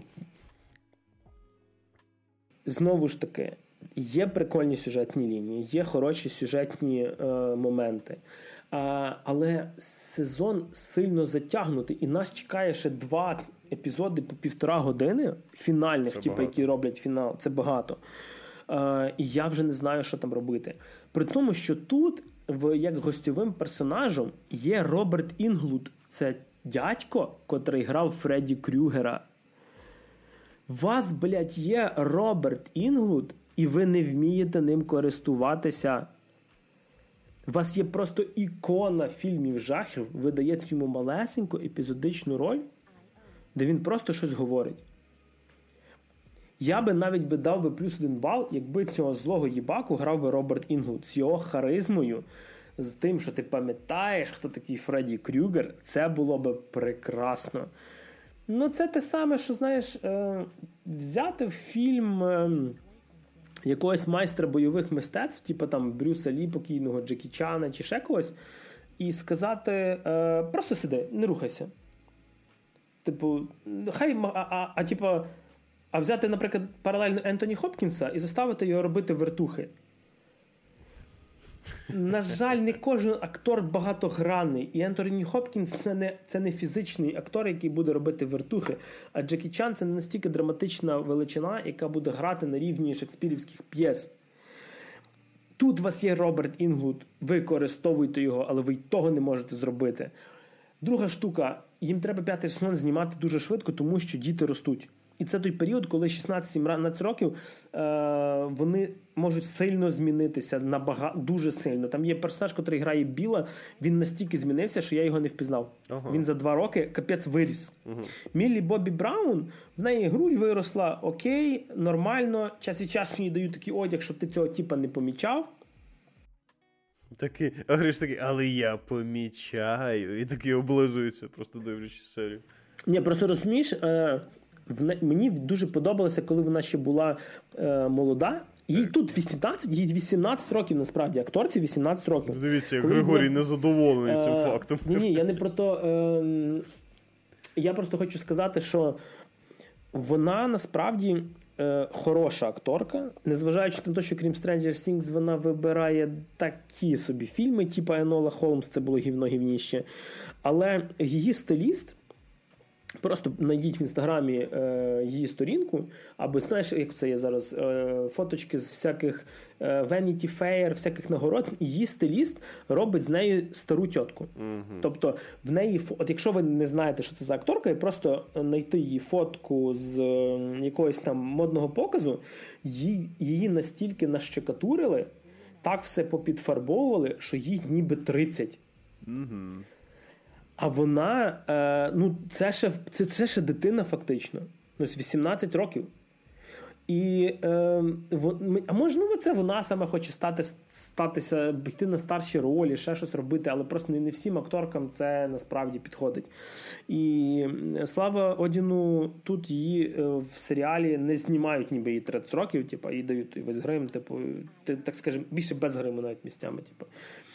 Знову ж таки, є прикольні сюжетні лінії, є хороші сюжетні е, моменти. А, але сезон сильно затягнутий, і нас чекає ще два епізоди по півтора години фінальних, типу, які роблять фінал. Це багато. А, і я вже не знаю, що там робити. При тому, що тут, в, як гостьовим персонажем, є Роберт Інглуд. Це дядько, котрий грав Фредді Крюгера. У вас, блядь, є Роберт Інглуд, і ви не вмієте ним користуватися. У вас є просто ікона фільмів жахів, ви даєте йому малесеньку епізодичну роль, де він просто щось говорить. Я би навіть би дав би плюс один бал, якби цього злого їбаку грав би Роберт Інглуд з його харизмою, з тим, що ти пам'ятаєш, хто такий Фредді Крюгер, це було би прекрасно. Ну, це те саме, що, знаєш, е, взяти фільм е, якогось майстра бойових мистецтв, типу там Брюса Лі, покійного Джекі Чана чи ще когось, і сказати, е, просто сиди, не рухайся. Типу, хай, а, а, а, типу, а взяти, наприклад, паралельно Ентоні Хопкінса і заставити його робити вертухи. На жаль, не кожен актор багатогранний. І Ентоні Хопкінс це не, це не фізичний актор, який буде робити вертухи. А Джекі Чан це не настільки драматична величина, яка буде грати на рівні шекспірівських п'єс. Тут у вас є Роберт Інглуд, ви використовуйте його, але ви й того не можете зробити. Друга штука, їм треба п'ятий сезон знімати дуже швидко, тому що діти ростуть. І це той період, коли шістнадцять-сімнадцять років е, вони можуть сильно змінитися, набагато, дуже сильно. Там є персонаж, який грає Біла, він настільки змінився, що я його не впізнав. Ага. Він за два роки капець виріс. Угу. Міллі Бобі Браун, в неї грудь виросла, окей, нормально, час від часу їй дають такий одяг, щоб ти цього типа не помічав. Такий, а Гриш такий, але я помічаю. І такий облизується, просто дивлячись серію. Ні, просто розумієш, е, в, мені дуже подобалося, коли вона ще була е, молода. Їй тут вісімнадцять, їй вісімнадцять років, насправді, акторці вісімнадцять років. Дивіться, як Григорій була... незадоволений цим е, фактом. Ні, ні, я не про то. Е, я просто хочу сказати, що вона насправді е, хороша акторка, незважаючи на те, що крім Stranger Things вона вибирає такі собі фільми, типу Енола Холмс, це було гівно-гівніще. Але її стиліст, просто знайдіть в інстаграмі е, її сторінку, або знаєш, як це є зараз, е, фоточки з всяких е, Vanity Fair, всяких нагород, її стиліст робить з нею стару тітку. Mm-hmm. Тобто в неї, от якщо ви не знаєте, що це за акторка, і просто знайти її фотку з е, якогось там модного показу, її, її настільки нащекатурили, так все попідфарбовували, що їй ніби тридцять. Mm-hmm. А вона, е, ну, це ще, це, це ще дитина фактично. Ну, вісімнадцять років. І, е, вон, а можливо, це вона саме хоче стати, статися, йти на старші ролі, ще щось робити, але просто не, не всім акторкам це насправді підходить. І слава Одіну, тут її в серіалі не знімають ніби її тридцять років, типу, їй дають весь грим, типу, так скажемо, більше без гриму навіть місцями. Типу.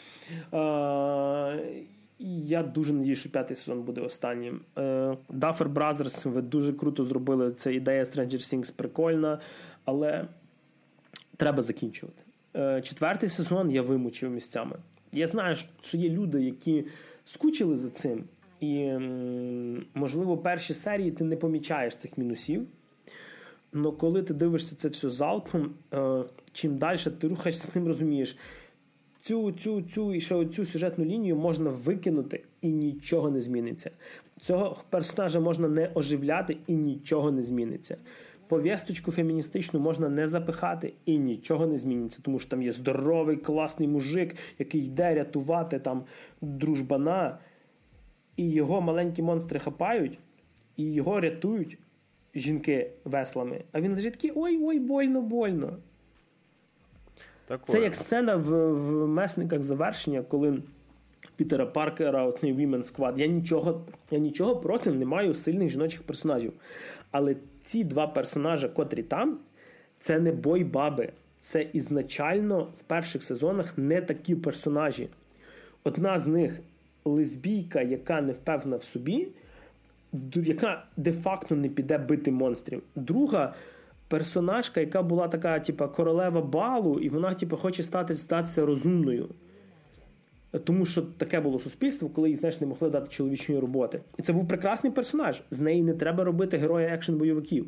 Е, Я дуже надію, що п'ятий сезон буде останнім. Duffer Brothers, ви дуже круто зробили. Це ідея Stranger Things прикольна, але треба закінчувати. Четвертий сезон я вимучив місцями. Я знаю, що є люди, які скучили за цим, і, можливо, перші серії ти не помічаєш цих мінусів. Але коли ти дивишся це все залпом, чим далі ти рухаєшся з ним, розумієш, Цю, цю, цю і ще цю сюжетну лінію можна викинути і нічого не зміниться. Цього персонажа можна не оживляти і нічого не зміниться. Повісточку феміністичну можна не запихати і нічого не зміниться, тому що там є здоровий, класний мужик, який йде рятувати там дружбана, і його маленькі монстри хапають, і його рятують жінки веслами. А він лежить такий, ой-ой, больно, больно. Такое. Це як сцена в, в «Месниках завершення», коли Пітера Паркера, оцей Women's Squad. Я нічого, я нічого проти не маю сильних жіночих персонажів. Але ці два персонажі, котрі там, це не бой-баби. Це ізначально в перших сезонах не такі персонажі. Одна з них лесбійка, яка не впевнена в собі, яка де-факто не піде бити монстрів. Друга персонажка, яка була така, типа, королева балу, і вона, типа, хоче стати, статися розумною. Тому що таке було суспільство, коли їй, знаєш, не могли дати чоловічої роботи. І це був прекрасний персонаж. З неї не треба робити героя екшн-бойовиків.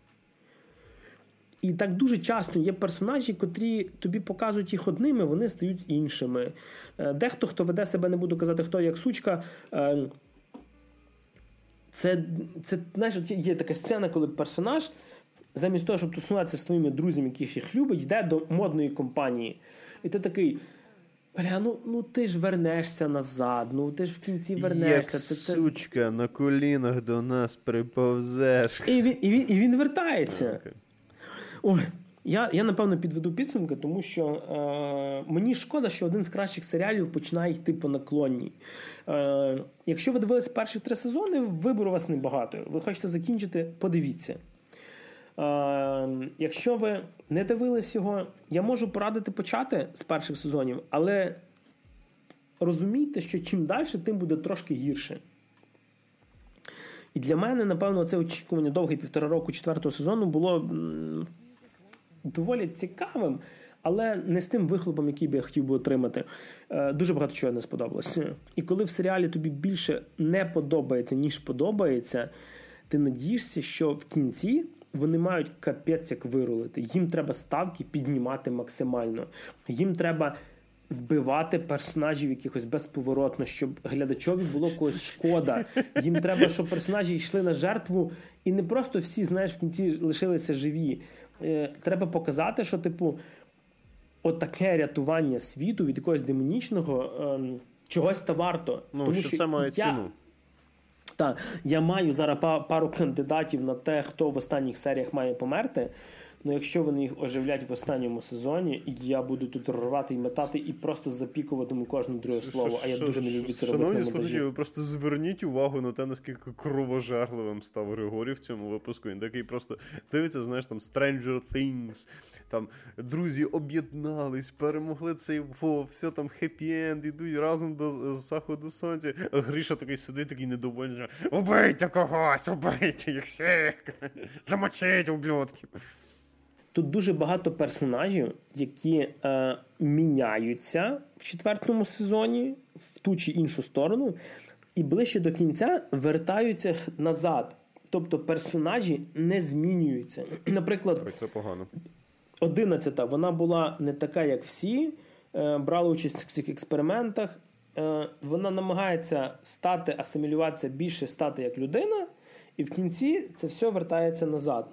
І так дуже часто є персонажі, котрі тобі показують їх одними, вони стають іншими. Дехто, хто веде себе, не буду казати, хто як сучка, це, це знаєш, є така сцена, коли персонаж замість того, щоб тусуватися з твоїми друзями, яких їх любить, йде до модної компанії. І ти такий, бля, ну, ну ти ж вернешся назад, ну ти ж в кінці вернешся. Як це, це... сучка на колінах до нас приповзеш. І він, і він, і він вертається. Okay. Ой, я, я, напевно, підведу підсумки, тому що е, мені шкода, що один з кращих серіалів починає йти по наклонній. Е, якщо ви дивилися перші три сезони, вибору у вас небагато. Ви хочете закінчити, подивіться. Uh, якщо ви не дивились його, я можу порадити почати з перших сезонів, але розумійте, що чим далі, тим буде трошки гірше. І для мене, напевно, це очікування довге півтора року четвертого сезону було м- доволі цікавим, але не з тим вихлопом, який би я хотів би отримати. Uh, дуже багато чого не сподобалось. І коли в серіалі тобі більше не подобається, ніж подобається, ти надієшся, що в кінці вони мають капець як вирулити. Їм треба ставки піднімати максимально. Їм треба вбивати персонажів якихось безповоротно, щоб глядачові було когось шкода. Їм треба, щоб персонажі йшли на жертву, і не просто всі, знаєш, в кінці лишилися живі. Треба показати, що, типу, отаке рятування світу від якогось демонічного ем, чогось та варто. Ну, Тому що, що це має я... ціну. Так, я маю зараз пару кандидатів на те, хто в останніх серіях має померти. Ну, якщо вони їх оживлять в останньому сезоні, я буду тут рвати і метати і просто запікуватиму кожне друге слово. А я дуже не люблю це робити на монтажі. Шановні слухачі, ви просто зверніть увагу на те, наскільки кровожерливим став Григорій в цьому випуску. Він такий просто дивиться, знаєш, там Stranger Things, там друзі об'єднались, перемогли цей во, все там хеппі-енд, ідуть разом до заходу сонця. А Гріша такий сидить, такий недовольний. Убийте когось, убийте їх всіх, замочіть ублюдків. Тут дуже багато персонажів, які е, міняються в четвертому сезоні в ту чи іншу сторону, і ближче до кінця вертаються назад. Тобто персонажі не змінюються. Наприклад, це погано. одинадцята, вона була не така, як всі, е, брала участь в цих експериментах. Е, вона намагається стати, асимілюватися, більше стати як людина, і в кінці це все вертається назад.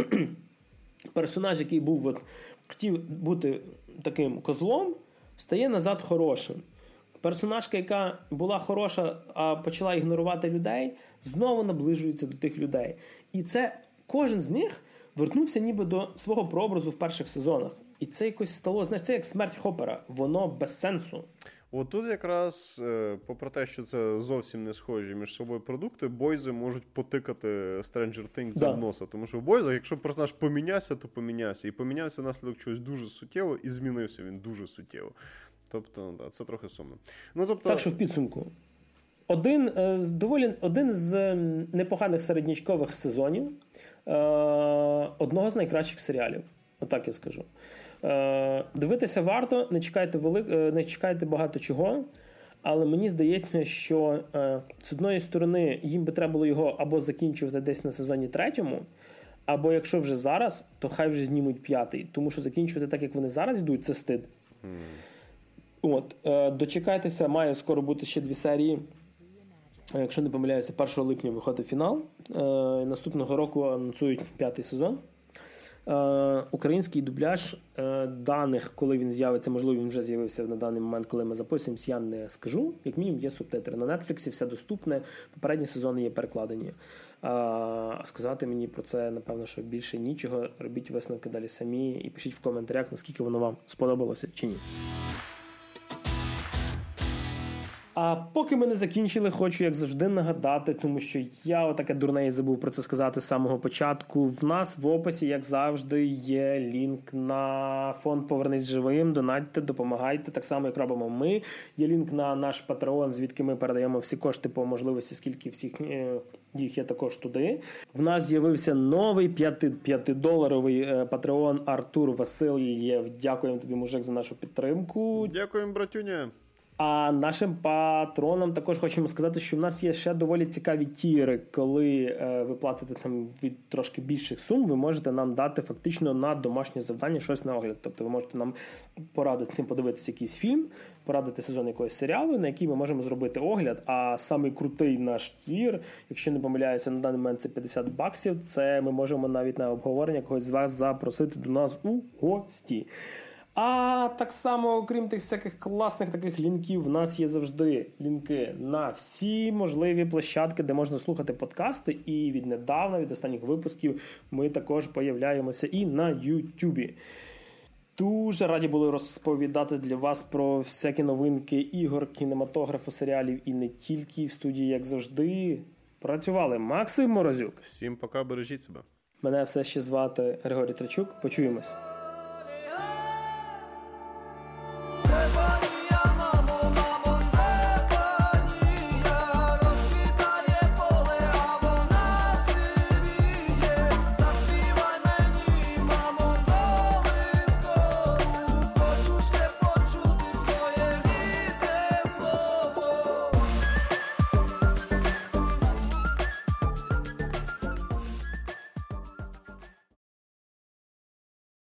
Персонаж, який був, от, хотів бути таким козлом, стає назад хорошим. Персонажка, яка була хороша, а почала ігнорувати людей, знову наближується до тих людей. І це кожен з них вернувся ніби до свого прообразу в перших сезонах. І це якось стало, знаєш, це як смерть Хоппера. Воно без сенсу. От тут якраз, попри те, що це зовсім не схожі між собою продукти, бойзи можуть потикати Stranger Things за носа. Тому що в бойзах, якщо персонаж помінявся, то помінявся. І помінявся внаслідок чогось дуже суттєво, і змінився він дуже суттєво. Тобто, да, це трохи сумно. Ну, тобто... Так що в підсумку. Один з, доволі, один з непоганих середнячкових сезонів е, одного з найкращих серіалів. Отак я скажу. Е, дивитися варто, не чекайте, велик, не чекайте багато чого, але мені здається, що е, з одної сторони їм би треба було його або закінчувати десь на сезоні третьому, або якщо вже зараз, то хай вже знімуть п'ятий. Тому що закінчувати так, як вони зараз йдуть, це стид. Mm. От, е, дочекайтеся, має скоро бути ще дві серії. Якщо не помиляюся, першого липня виходить фінал. Е, наступного року анонсують п'ятий сезон. Е, український дубляж е, даних, коли він з'явиться, можливо, він вже з'явився на даний момент, коли ми записуємося, я не скажу. Як мінімум є субтитри. На Netflix все доступне, попередні сезони є перекладені. А сказати мені про це, напевно, що більше нічого. Робіть висновки далі самі і пишіть в коментарях, наскільки воно вам сподобалося чи ні. А поки ми не закінчили, хочу, як завжди, нагадати, тому що я отаке дурне і забув про це сказати з самого початку. В нас в описі, як завжди, є лінк на фонд «Повернись живим», донатьте, допомагайте, так само, як робимо ми. Є лінк на наш Patreon, звідки ми передаємо всі кошти по можливості, скільки всіх їх є також туди. В нас з'явився новий п'ятидоларовий Patreon Артур Васильєв. Дякуємо тобі, мужик, за нашу підтримку. Дякуємо, братюня. А нашим патронам також хочемо сказати, що в нас є ще доволі цікаві тіри. Коли е, ви платите там від трошки більших сум, ви можете нам дати фактично на домашнє завдання щось на огляд. Тобто ви можете нам порадити подивитися якийсь фільм, порадити сезон якогось серіалу, на який ми можемо зробити огляд. А самий крутий наш тір, якщо не помиляюся, на даний момент це п'ятдесят баксів, це ми можемо навіть на обговорення когось з вас запросити до нас у гості. А так само, окрім тих всяких класних таких лінків, в нас є завжди лінки на всі можливі площадки, де можна слухати подкасти. І віднедавна, від останніх випусків, ми також появляємося і на Ютубі. Дуже раді були розповідати для вас про всякі новинки ігор, кінематографу, серіалів і не тільки. В студії, як завжди, працювали Максим Морозюк. Всім пока, бережіть себе. Мене все ще звати Григорій Трачук. Почуємось.